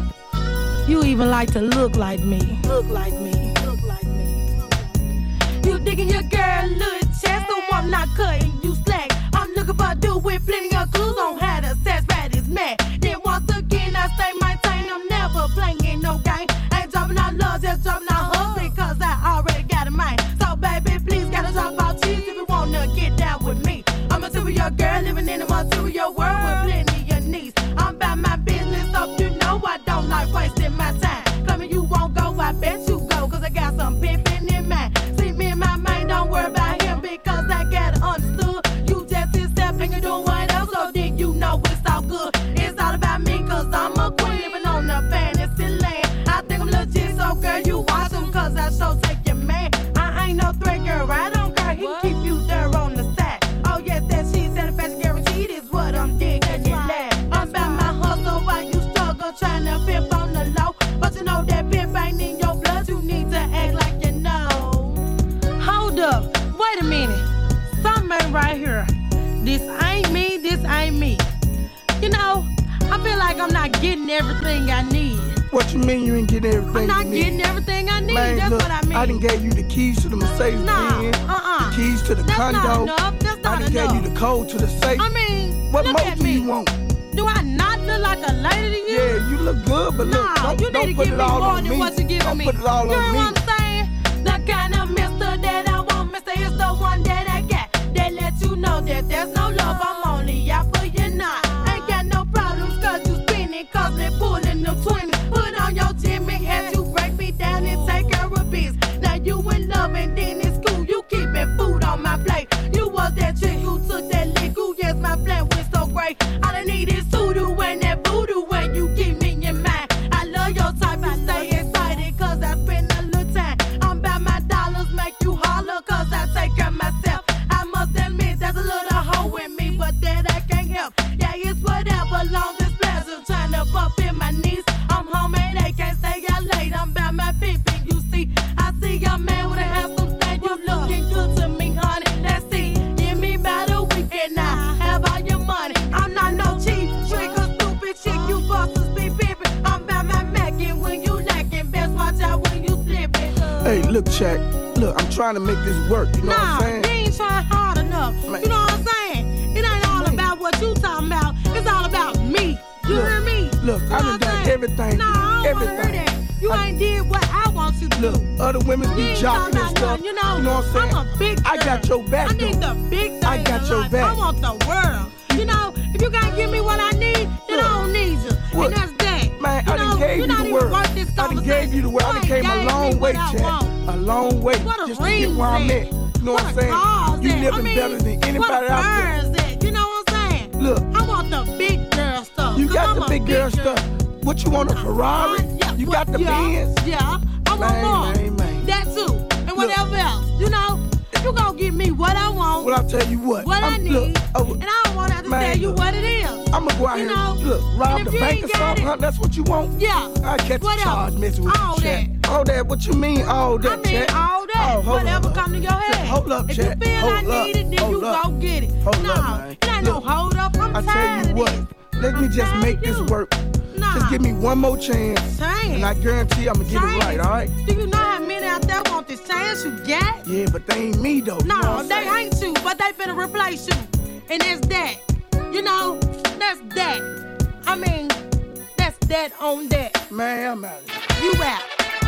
you even like to look like me. Look like me. Look like me. You digging your girl little chest, so I'm not cutting you slack. I'm looking for a dude with plenty of clues on how to sex bad is mad. Then once again I stay maintain, I'm never playing no game. Ain't dropping out love, just dropping out husband, cause I already got a mind. So baby, please gotta drop out cheese if you wanna get down with me. I'm a material girl living in a material world with plenty of needs. I'm about my business, so you know I don't like wasting my time. Claiming you won't go, I bet you go, cause I got some pimpin' in mind. See me and my mind, don't worry about him, because I got it understood. You just hit step and you're doing what else, so then you know it's all good. It's all about me, cause I'm a queen living on the fantasy land. I think I'm legit, so girl, you watch him, cause I show take your man. I ain't no threat, girl, I don't care, he can keep you there on the side. Oh yes, that she's satisfaction guaranteed is what I'm digging, you laugh. I'm about my hustle while you struggle, trying to pimp on the low. But you know that pimp ain't in your blood, you need to act like you know. Hold up, wait a minute, something ain't right here. This ain't me, this ain't me. You know, I feel like I'm not getting everything I need. What you mean you ain't getting everything I'm not you need? getting everything I need, Man, that's look, what I mean. I done gave you the keys to the Mercedes Nah, Benz, uh-uh. the keys to the That's condo. not enough, that's not I done enough. gave you the code to the safe. I mean, what look more at do me. you want? Do I not look like a lady to you? Yeah, you look good, but look, Nah, don't, you don't need to put give it me all more on than me. what you're giving don't me. put it all you know on me. what I'm saying? The kind of mister that I want, mister, is the one that I got. That let you know that there's no love, I'm only out for you now. Ain't got no problems, cause you spinning, cause they pulling the twenty. Put on your Jimmy hat, you break me down and take care of business. Now you in love and then it's cool, you keeping food on my plate. You was that chick who took that lick, ooh, yes, my plan went so great. All I need is voodoo and that voodoo when you keep me in mind. I love your type, I stay excited, cause I spend a little time. I'm about my dollars, make you holler, cause I take care of myself. I must admit, there's a little hoe in me, but that I can't help. Yeah, it's whatever, long as pleasure, trying to bump in my knees. I'm home and they can't stay out late, I'm about my pimping, you see. I see a man with a handsome thing, you looking good to me, honey. Let's see, give me about a weekend now, have all your money. I'm not no cheap trick or stupid chick, you busters be pimping. I'm about my mackin' when you lacking, best watch out when you slipping. Hey, look, Jack, look, I'm trying to make this work, you know nah, what I'm saying? Nah, you ain't trying hard enough, Man. you know what I'm saying? It ain't all about what you talking about, it's all about me. You Look, hear me? Look, You I know done what I'm done saying? everything. Nah, I don't everything. wanna hear that. You I- ain't did what I want you to Look, do. other women You be ain't jocking talking and about stuff. nothing, you know, you know what I'm saying? I'm a big I got girl. your back, I need though. the big things I got in your life. back. I want the world. You know, if you can't give me what I need, then I don't need you. What? And that's that. Man, you I done know, gave you're you not the even word. worth this I done gave you the word. I done You came ain't a gave me long way, what I Jack. want. A long way What a just to get ring where I'm said. at. You know what I'm saying? Cars You at? living I mean, better than anybody what out there. cars at? You know what I'm saying? Look. I want the big girl stuff. You 'cause got I'm the a big girl girl. stuff. What you want, a Ferrari? Yeah, You what- got the yeah, Benz? Yeah, I want Man, more. man, man. That too, and whatever else. You know, if you gonna give me what I want, Well, I'll tell you what. what I I'm- need, look, oh, and I don't want to have to man, tell you look. what it is. I'm gonna go out You here know, and look, rob and the if you bank ain't or got something, it- huh? That's what you want? Yeah. I catch a Whatever. charge messing with All you, Chat. All that, what you mean, all that, I mean, Chat? all that. Oh, hold Whatever up. come to your head. Hold up, If Chat. you feel Hold I up. need it, then Hold you up. go get it. Hold no, up, man. it ain't Look, no hold up. I'm I tell tired you of what, this. let me just make this work. Nah. Just give me one more chance, Chance. and I guarantee I'm gonna get it right, all right? Do you know how many out there want this chance you got? Yeah, but they ain't me, though. You know No, what I'm they saying? ain't you, but they finna replace you. And that's that. You know, that's that. I mean, that's that on that. Man, I'm out of here. You out.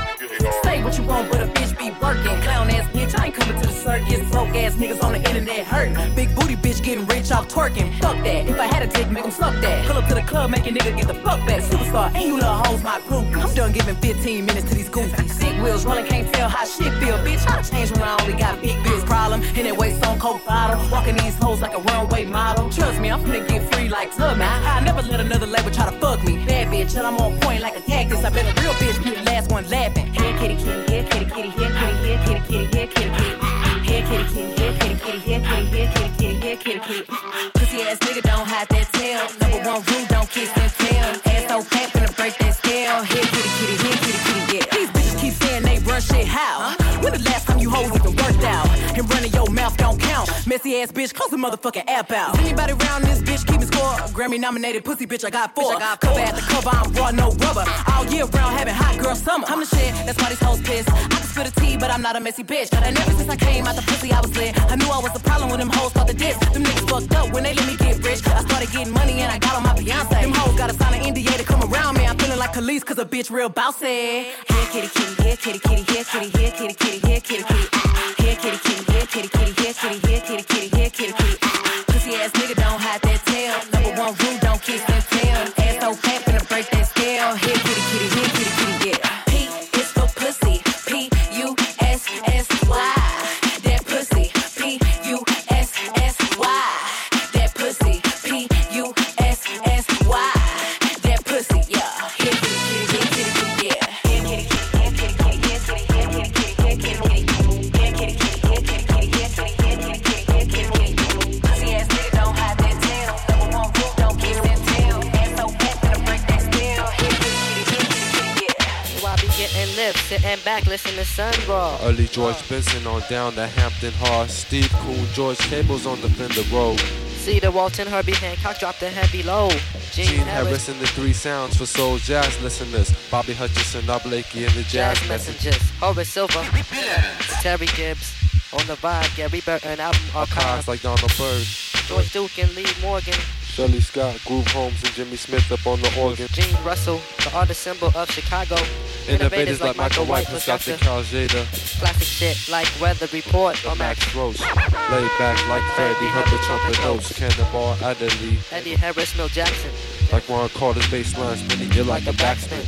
Say what you want, but a bitch be working. Clown ass bitch, I ain't coming to the circus. Broke ass niggas on the internet hurting. Big booty bitch getting rich off twerking. Fuck that. If I had a dick, make 'em suck that. Pull up to the club, make a nigga get the fuck back. Superstar, and you little hoes my group. I'm done giving fifteen minutes to these goofies. Sick wheels rolling, can't tell how shit feel. Bitch, I change when I only got big bills. Problem, in that way, stone cold bottle. Walking these hoes like a runway model. Trust me, I'm finna get free like Tubman. I never let another label try to fuck me. Bad bitch, and I'm on point like a cactus. I bet a real bitch be the last one laughing. Here kitty kitty, here kitty kitty, here kitty, here kitty kitty, here kitty kitty. Here kitty kitty, here kitty kitty, here kitty, here kitty kitty, here kitty kitty. Pussy ass nigga don't hide that tail. Number one rule, don't kiss that tail. Ass so fat, finna break that scale. Here kitty kitty, here kitty kitty, yeah. These bitches keep saying they run shit, how? When the last time you hoes even worked out? And running your mouth don't count. Messy ass bitch, close the motherfucking app out. Is anybody around this bitch keeping score? Grammy nominated pussy bitch, I got four. Cover at the cover, I'm raw, no rubber. All year round, having hot girl summer. I'm the shit, that's why these hoes pissed. I can spill the tea, but I'm not a messy bitch. And ever since I came out the pussy, I was lit. I knew I was the problem when them hoes thought the diss. Them niggas fucked up when they let me get rich. I started getting money and I got on my Beyonce. Them hoes gotta sign an N D A to come around me. I'm feeling like Khalees cause a bitch real bossy. Here kitty kitty, here kitty kitty, here kitty, here kitty kitty, here kitty kitty. Here kitty kitty, here kitty kitty, here kitty, here kitty kitty, here kitty kitty. Pussy ass nigga don't hide that tail. Number one rule, don't kiss that tail. Ass so fat, finna break that scale. Here kitty kitty, here kitty kitty, yeah. P is for pussy, P U S S Y. That pussy, P U S S Y. That pussy, P U S S Y. That pussy, yeah. Here kitty kitty, here kitty kitty, yeah. Here kitty kitty, here kitty kitty, here kitty, here kitty kitty, here kitty kitty. Here kitty kitty, here kitty kitty, here kitty, here kitty kitty, here kitty kitty. Pussy ass nigga don't hide that tail. Number one rule, don't kiss that tail. Ass so fat, finna break that scale. Here kitty kitty, here kitty kitty, yeah. So I be getting lips, sitting back, listen to sun raw. Early George Benson on down to Hampton Hard. Steve Coon, George Cables on the Fender Road. Cedar Walton, Herbie Hancock dropped a heavy low. Gene, Gene Harris, Harris and the three sounds for soul jazz listeners. Bobby Hutcherson, Bob Blakey and the Jazz, Jazz Messengers. Messengers, Horace Silver, Terry Gibbs, on the vibe, Gary Burton, album Archives archive. like Donald Byrd. George Duke and Lee Morgan, Shirley Scott, Groove Holmes and Jimmy Smith up on the organ. Gene Russell, the artist symbol of Chicago. Innovators like Michael White, Pascal Calzada. Classic shit like Weather Report or Max Roach. Laid back like Freddie, Herbert trumpet notes. Cannonball Adderley. Eddie Harris, Mill Jackson. Like Ron Carter's bass line spinning. You're like a backspin.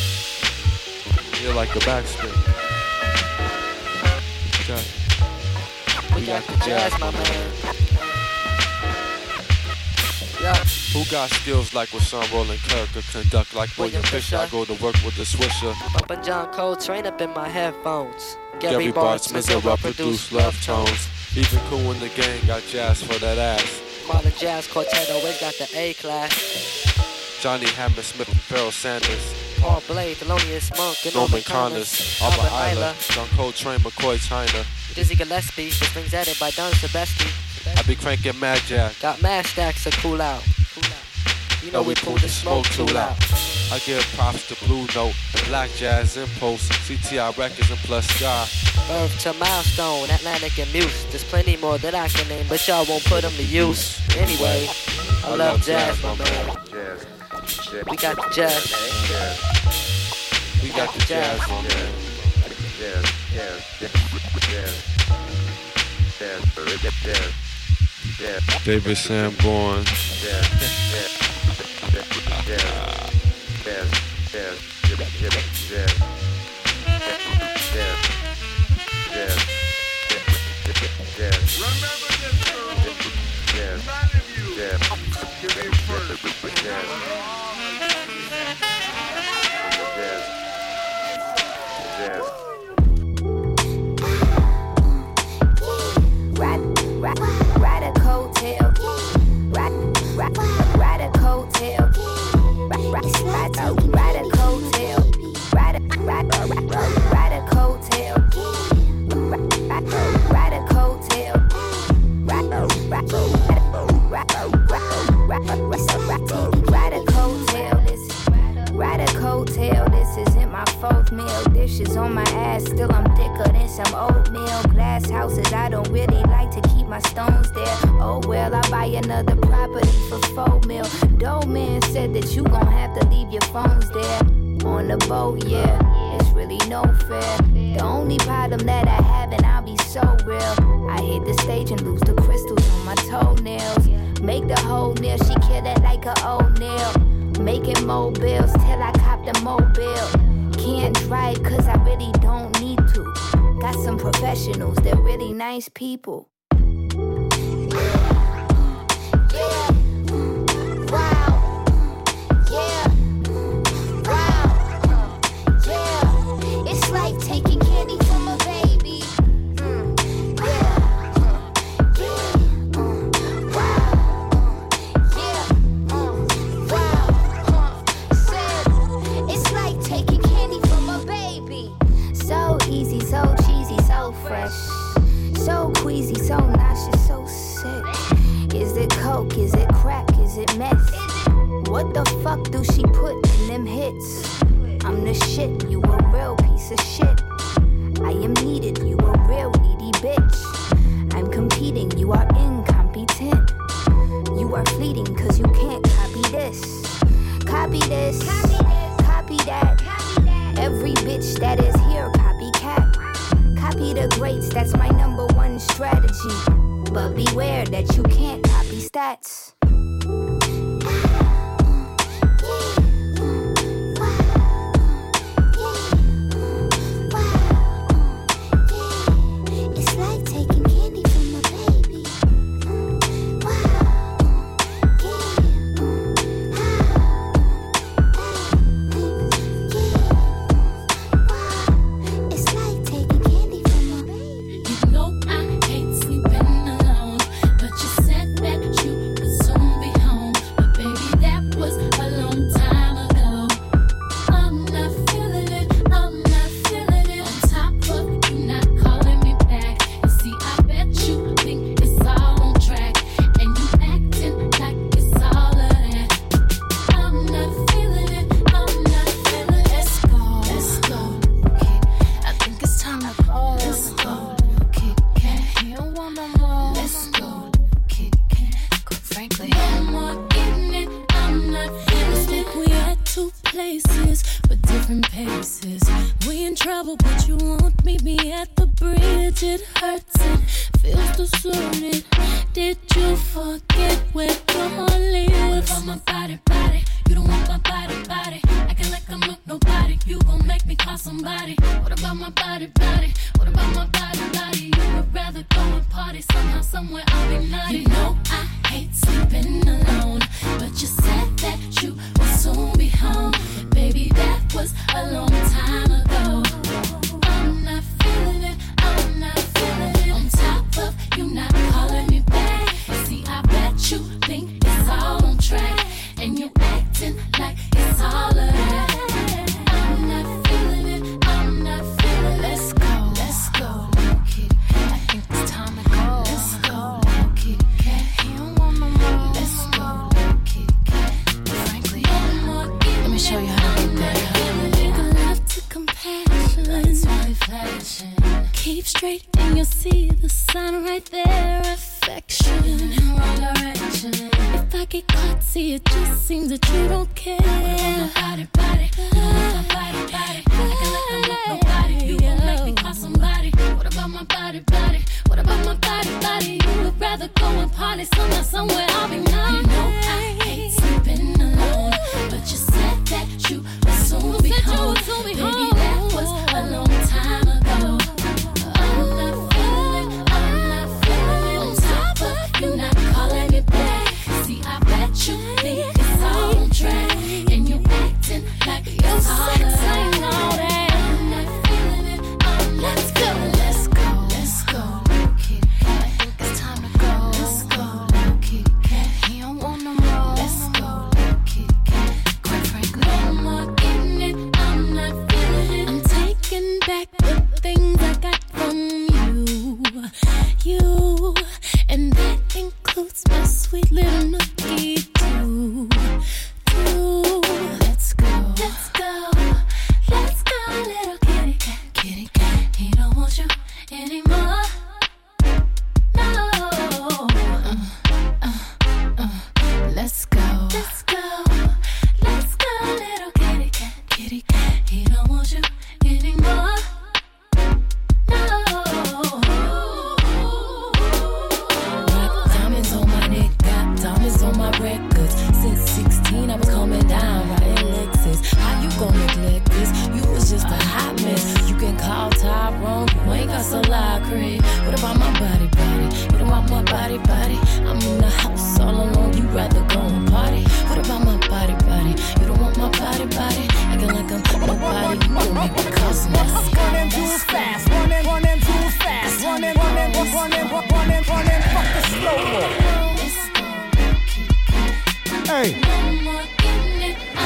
You're like a backspin. Okay. We got the jazz, my man. Yeah. Who got skills like Rashawn Roland Kirk or conduct like William Fisher? I go to work with the Swisher. Bumpin' John Coltrane up in my headphones. Gary, Gary Bartz, Mizera produced love tones. Even Cool in the gang got jazz for that ass. Modern Jazz Quartet always got the A class. Johnny Hammersmith and Pharoah Sanders. Paul Blade, Thelonious Monk, and Norman Connors. Albert Eiler, John Coltrane, McCoy China. Dizzy Gillespie, the strings added by Don Sebesti. I be cranking Mad Jack. Got mad stacks to cool out. Cool out. You know we, we pull the smoke too loud. I give props to Blue Note and Black Jazz Impulse, C T I Records and Plus Sky. Birth to Milestone, Atlantic and Muse. There's plenty more that I can name, but y'all won't put them to use. Anyway, I, I love, love jazz, jazz, my man. Jazz. We got the jazz. We got the jazz, my man. Jazz, jazz, jazz, jazz, jazz, jazz. Yeah. David Sanborn. Yeah, yeah, yeah, yeah, yeah, yeah, yeah, yeah, yeah, People. Keep straight and you'll see the sign right there. Affection in wrong direction. If I get caught, see it just seems that you don't care. What about my body, body? What about my body, body? I can let them look nobody. You won't make me call somebody. What about my body, body? What about my body, body? You would rather go and party somewhere, somewhere I'll be known. You know I hate sleeping alone, but you said that you would soon be home. Baby, that was a long time ago. I'm not feeling, I'm not feeling it. On top of you not calling me back. See, I bet you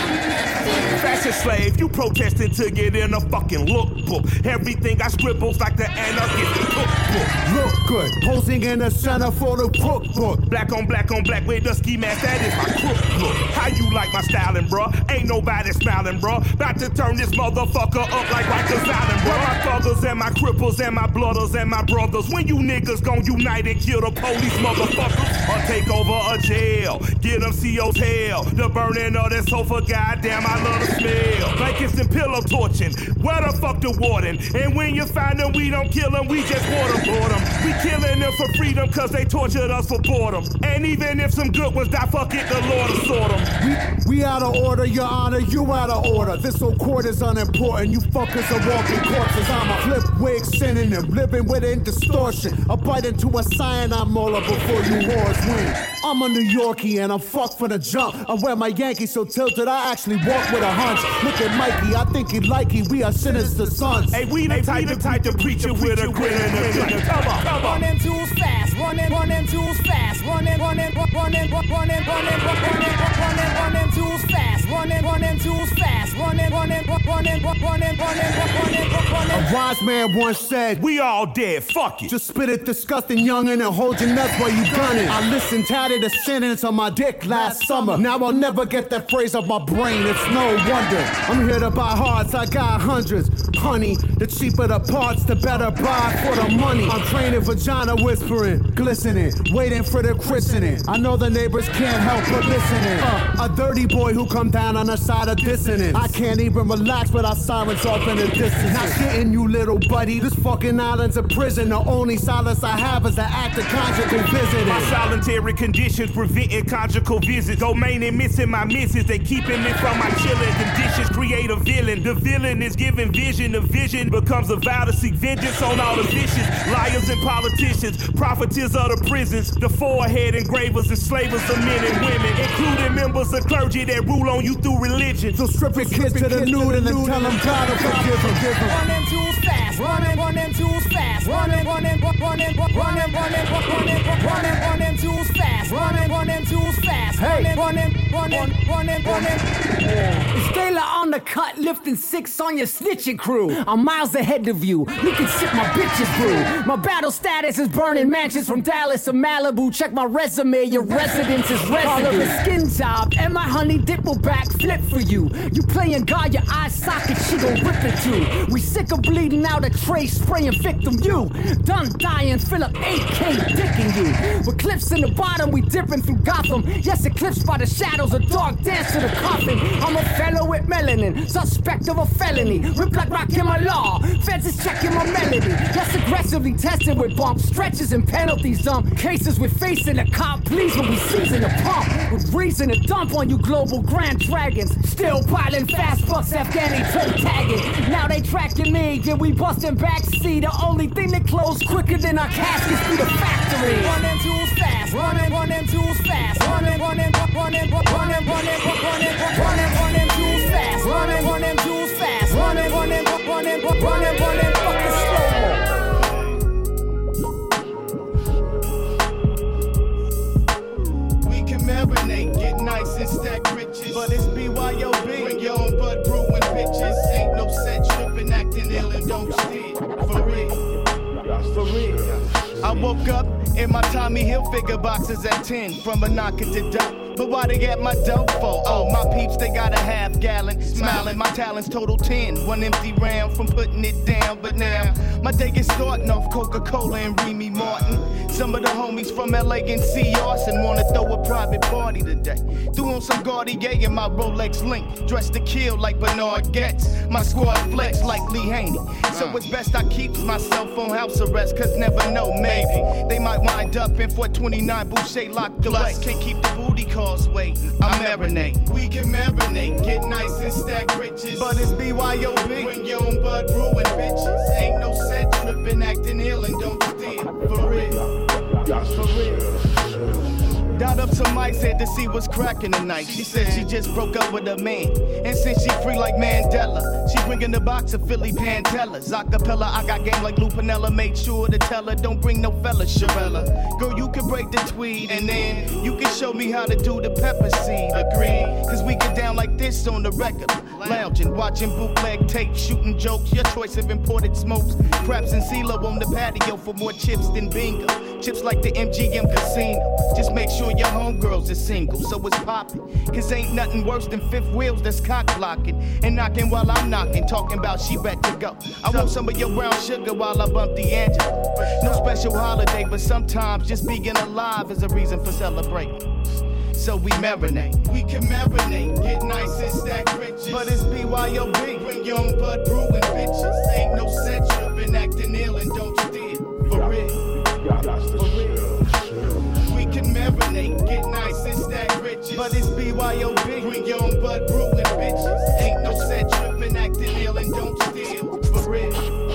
Fashion slave, you protesting to get in a fucking lookbook. Everything I scribbles like the anarchist cookbook. Look good, posing in the center for the cookbook. Black on black on black with the ski mask, that is my crook look. How you like my styling, bruh? Ain't nobody smiling, bruh. About to turn this motherfucker up like Rikers Island, bruh. My thuggers and my cripples and my blooders and my brothers. When you niggas gon' unite and kill the police, motherfuckers, or take over a jail, get them C O's hell. The burning of that sofa, goddamn, I love the smell. Blankets and pillow torching, where the fuck the warden? And when you find them, we don't kill them, we just board them, board them. We killing them for freedom, cause they tortured us for boredom. And even if some good ones die, fuck it, the Lord will sort them. We, we out of order, your honor, you out of order. This whole court is unimportant, you fuckers are walking corpses. I'm a flip wig synonym, living within distortion. A bite into a cyanide molar before you whores win. I'm a New Yorkie and I'm fucked for the jump. I wear my Yankees so tilted, I actually walk with a hunch. Look at Mikey, I think he like he, we are sinister sons. Hey, we the type to type to preach it with a grin and a grin. Come on, come on. Run them tools fast, run them, run them tools fast, run them, run them, run them, run them, run them, run them, run them, run them tools fast, run them, run them tools fast, run them, run them, run them, run them, run them, run them, run them. A wise man once said, we all dead, fuck it. Just spit it disgusting youngin' and hold your nuts while you gunning. I listened, tatted a sentence on my dick last summer. Now I'll never get that phrase off my brain, it's no wonder. I'm here to buy hearts, I got hundreds. Honey, the cheaper the parts, the better buy for the money. I'm training vagina whispering, glistening, waiting for the christening. I know the neighbors can't help but listening. Uh, a dirty boy who come down on the side of dissonance. I can't even relax without sirens off in the distance. Not shitting you, little buddy. This fucking island's a prison. The only solace I have is the act of conjugal visiting. My solitary conditions preventing conjugal visits. Domain and missing my misses. They keeping me from my chilling conditions. Create a villain. The villain is giving vision. The vision becomes a vow to seek vengeance on all the vicious liars and politicians, profiteers of the prisons, the forehead engravers and slavers of men and women, including members of clergy that rule on you through religion. So strip your kids to the nude and then tell them God to forgive them. Run them tools fast, run them, run them tools fast, run them, run them, run them, run them, run them, run them, run them, run them, run them tools fast, run them, run them tools fast, run them, run them, run them, run them, run them. It's Taylor on the cut, lifting six on your snitching crew. I'm miles ahead of you. You can sip my bitches brew. My battle status is burning mansions from Dallas to Malibu. Check my resume, your residence is residue. Call her a skin job, and my honey dip will backflip for you. You playing God, your eye socket, she gon' rip it too. We sick of bleeding out a tray, spraying victim you. Done dying, fill up eight K dicking you. With clips in the bottom, we dipping through Gotham. Yes, eclipsed by the shadows, a dark dance to the coffin. I'm a fellow with melanin, suspect of a felony. Rip like rock in my law, feds is checking my melody. Less aggressively tested with bumps, stretches and penalties. Dump cases with facing a cop, please when we season the pump. With reason to dump on you global grand dragons. Still piling fast bucks, Afghani toe tagging. Now they tracking me, yeah we busting backseat. The only thing that close quicker than our caskets through the factory. Run them tools fast, run them, run them tools fast, run them, run them, run them, run them, run them, run them, run them, run them, run them tools fast, run them, run them tools fast, run them, run them, run them, run them, run them, fucking slow. Marinate, get nice and stack riches. But it's B Y O B. Bring your own bud brewing bitches. Ain't no set tripping, acting ill and don't steer. For real. For real. I woke up in my Tommy Hilfiger boxes at ten. From a knocker to dope. But why they get my dope for? Oh, my peeps, they got a half gallon. Smiling, my talents total ten. One empty round from putting it down. But now, my day is starting off Coca-Cola and Remy Martin. Some of the homies from L A and C Arson wanna throw a private party today. Threw on some Cartier and my Rolex link. Dressed to kill like Bernard Getz. My squad flex like Lee Haney. So it's best I keep myself on house arrest, cause never know, maybe they might wind up in four twenty-nine Boucher locked away. Can't keep the booty calls waiting. I marinate. We can marinate, get nice and stack riches. But it's B Y O B. Bring your own bud brewing bitches. Ain't no set tripping, acting ill and don't steal. For real. For real. Dialed up some mics, had to see what's cracking tonight. She said she just broke up with a man, and since she free like Mandela, she bringing the box of Philly Pantellas. Acapella, I got game like Lou Pinella. Made sure to tell her, don't bring no fella, Sharella. Girl, you can break the tweed, and then you can show me how to do the pepper seed. Agreed, cause we get down like like this on the record. Lounging, watching bootleg tape, shooting jokes. Your choice of imported smokes. Craps and CeeLo on the patio for more chips than bingo. Chips like the M G M Casino. Just make sure your homegirls are single, so it's poppin'. Cause ain't nothing worse than fifth wheels that's cock blocking. And knocking while I'm knocking, talking about she bet to go. I want some of your brown sugar while I bump D'Angelo. No special holiday, but sometimes just being alive is a reason for celebrating. So we marinate. We can marinate, get nice and stack riches. But it's B Y O B. Bring your own Bud Brew and bitches. Ain't no set trippin', acting ill and don't steal. For real. For real. We can marinate, get nice and stack riches. But it's B Y O B. Bring your own Bud Brew and bitches. Ain't no set trippin', acting ill and don't steal. For real.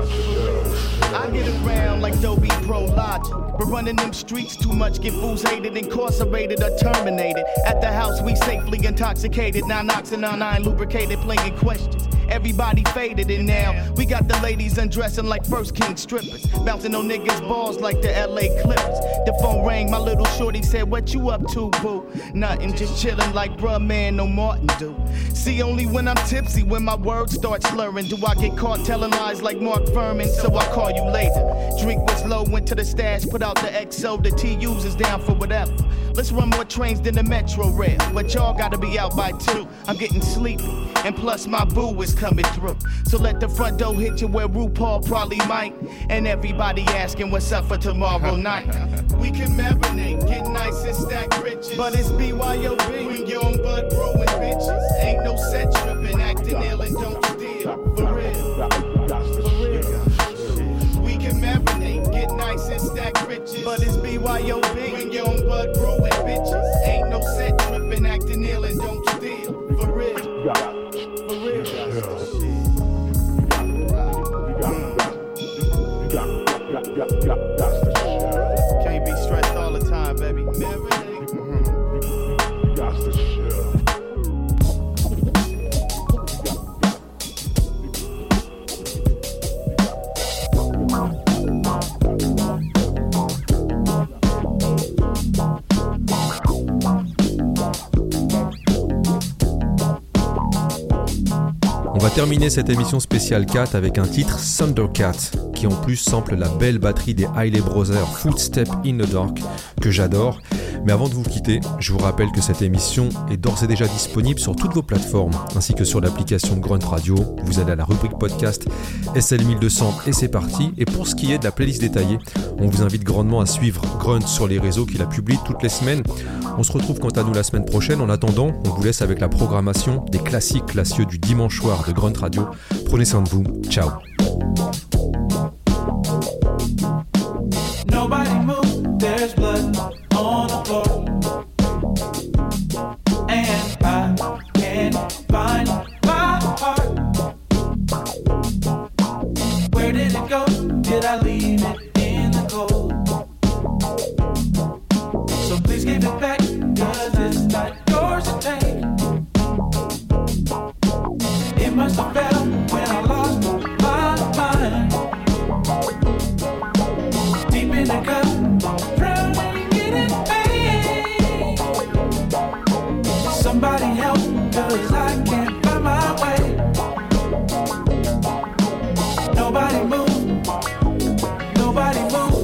I get around like Dolby Pro Logic. But running them streets too much, get fools hated, incarcerated or terminated. At the house we safely intoxicated, non-oxynine lubricated, playing questions. Everybody faded and now we got the ladies undressing like First King strippers, bouncing on niggas' balls like the L A Clippers. The phone rang, my little shorty said, what you up to, boo? Nothing, just chillin' like bruh man, no Martin do. See, only when I'm tipsy, when my words start slurring, do I get caught telling lies like Mark Furman, so I call you later. Drink was low, went to the stash, put out the X O, the T U's is down for whatever. Let's run more trains than the Metro Rail, but y'all gotta be out by two. I'm getting sleepy, and plus my boo is coming through. So let the front door hit you where RuPaul probably might, and everybody asking what's up for tomorrow night. We can marinate, get nice and stack riches, but it's B Y O B. Bring your own Bud Brew and bitches. Ain't no set trippin', acting ill and don't steal. For real. For real. We can marinate, get nice and stack riches, but it's B Y O B. Bring your own Bud Brew and bitches. Ain't no set trippin', acting ill and don't steal. For real. For real. Can't be stressed all the time, baby. Marinate. Mm-hmm. Got the shit. On va terminer cette émission spéciale quatre avec un titre Thundercat qui en plus sample la belle batterie des Hailey Brothers Footstep in the Dark que j'adore. Mais avant de vous quitter, je vous rappelle que cette émission est d'ores et déjà disponible sur toutes vos plateformes ainsi que sur l'application de Grunt Radio. Vous allez à la rubrique podcast S L mille deux cents et c'est parti. Et pour ce qui est de la playlist détaillée, on vous invite grandement à suivre Grunt sur les réseaux qui la publie toutes les semaines. On se retrouve quant à nous la semaine prochaine. En attendant, on vous laisse avec la programmation des classiques classieux du dimanche soir de Grunt Radio. Prenez soin de vous. Ciao. Nobody move, there's blood on the floor. And I can't find my heart. Where did it go? Did I leave it in the cold? So please give it back, cause it's not yours to take. It must have fell when I lost my mind. Deep in the cup, drowning in it, pain. Somebody help, cause I can't find my way. Nobody move, nobody move.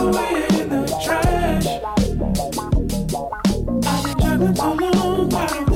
So long,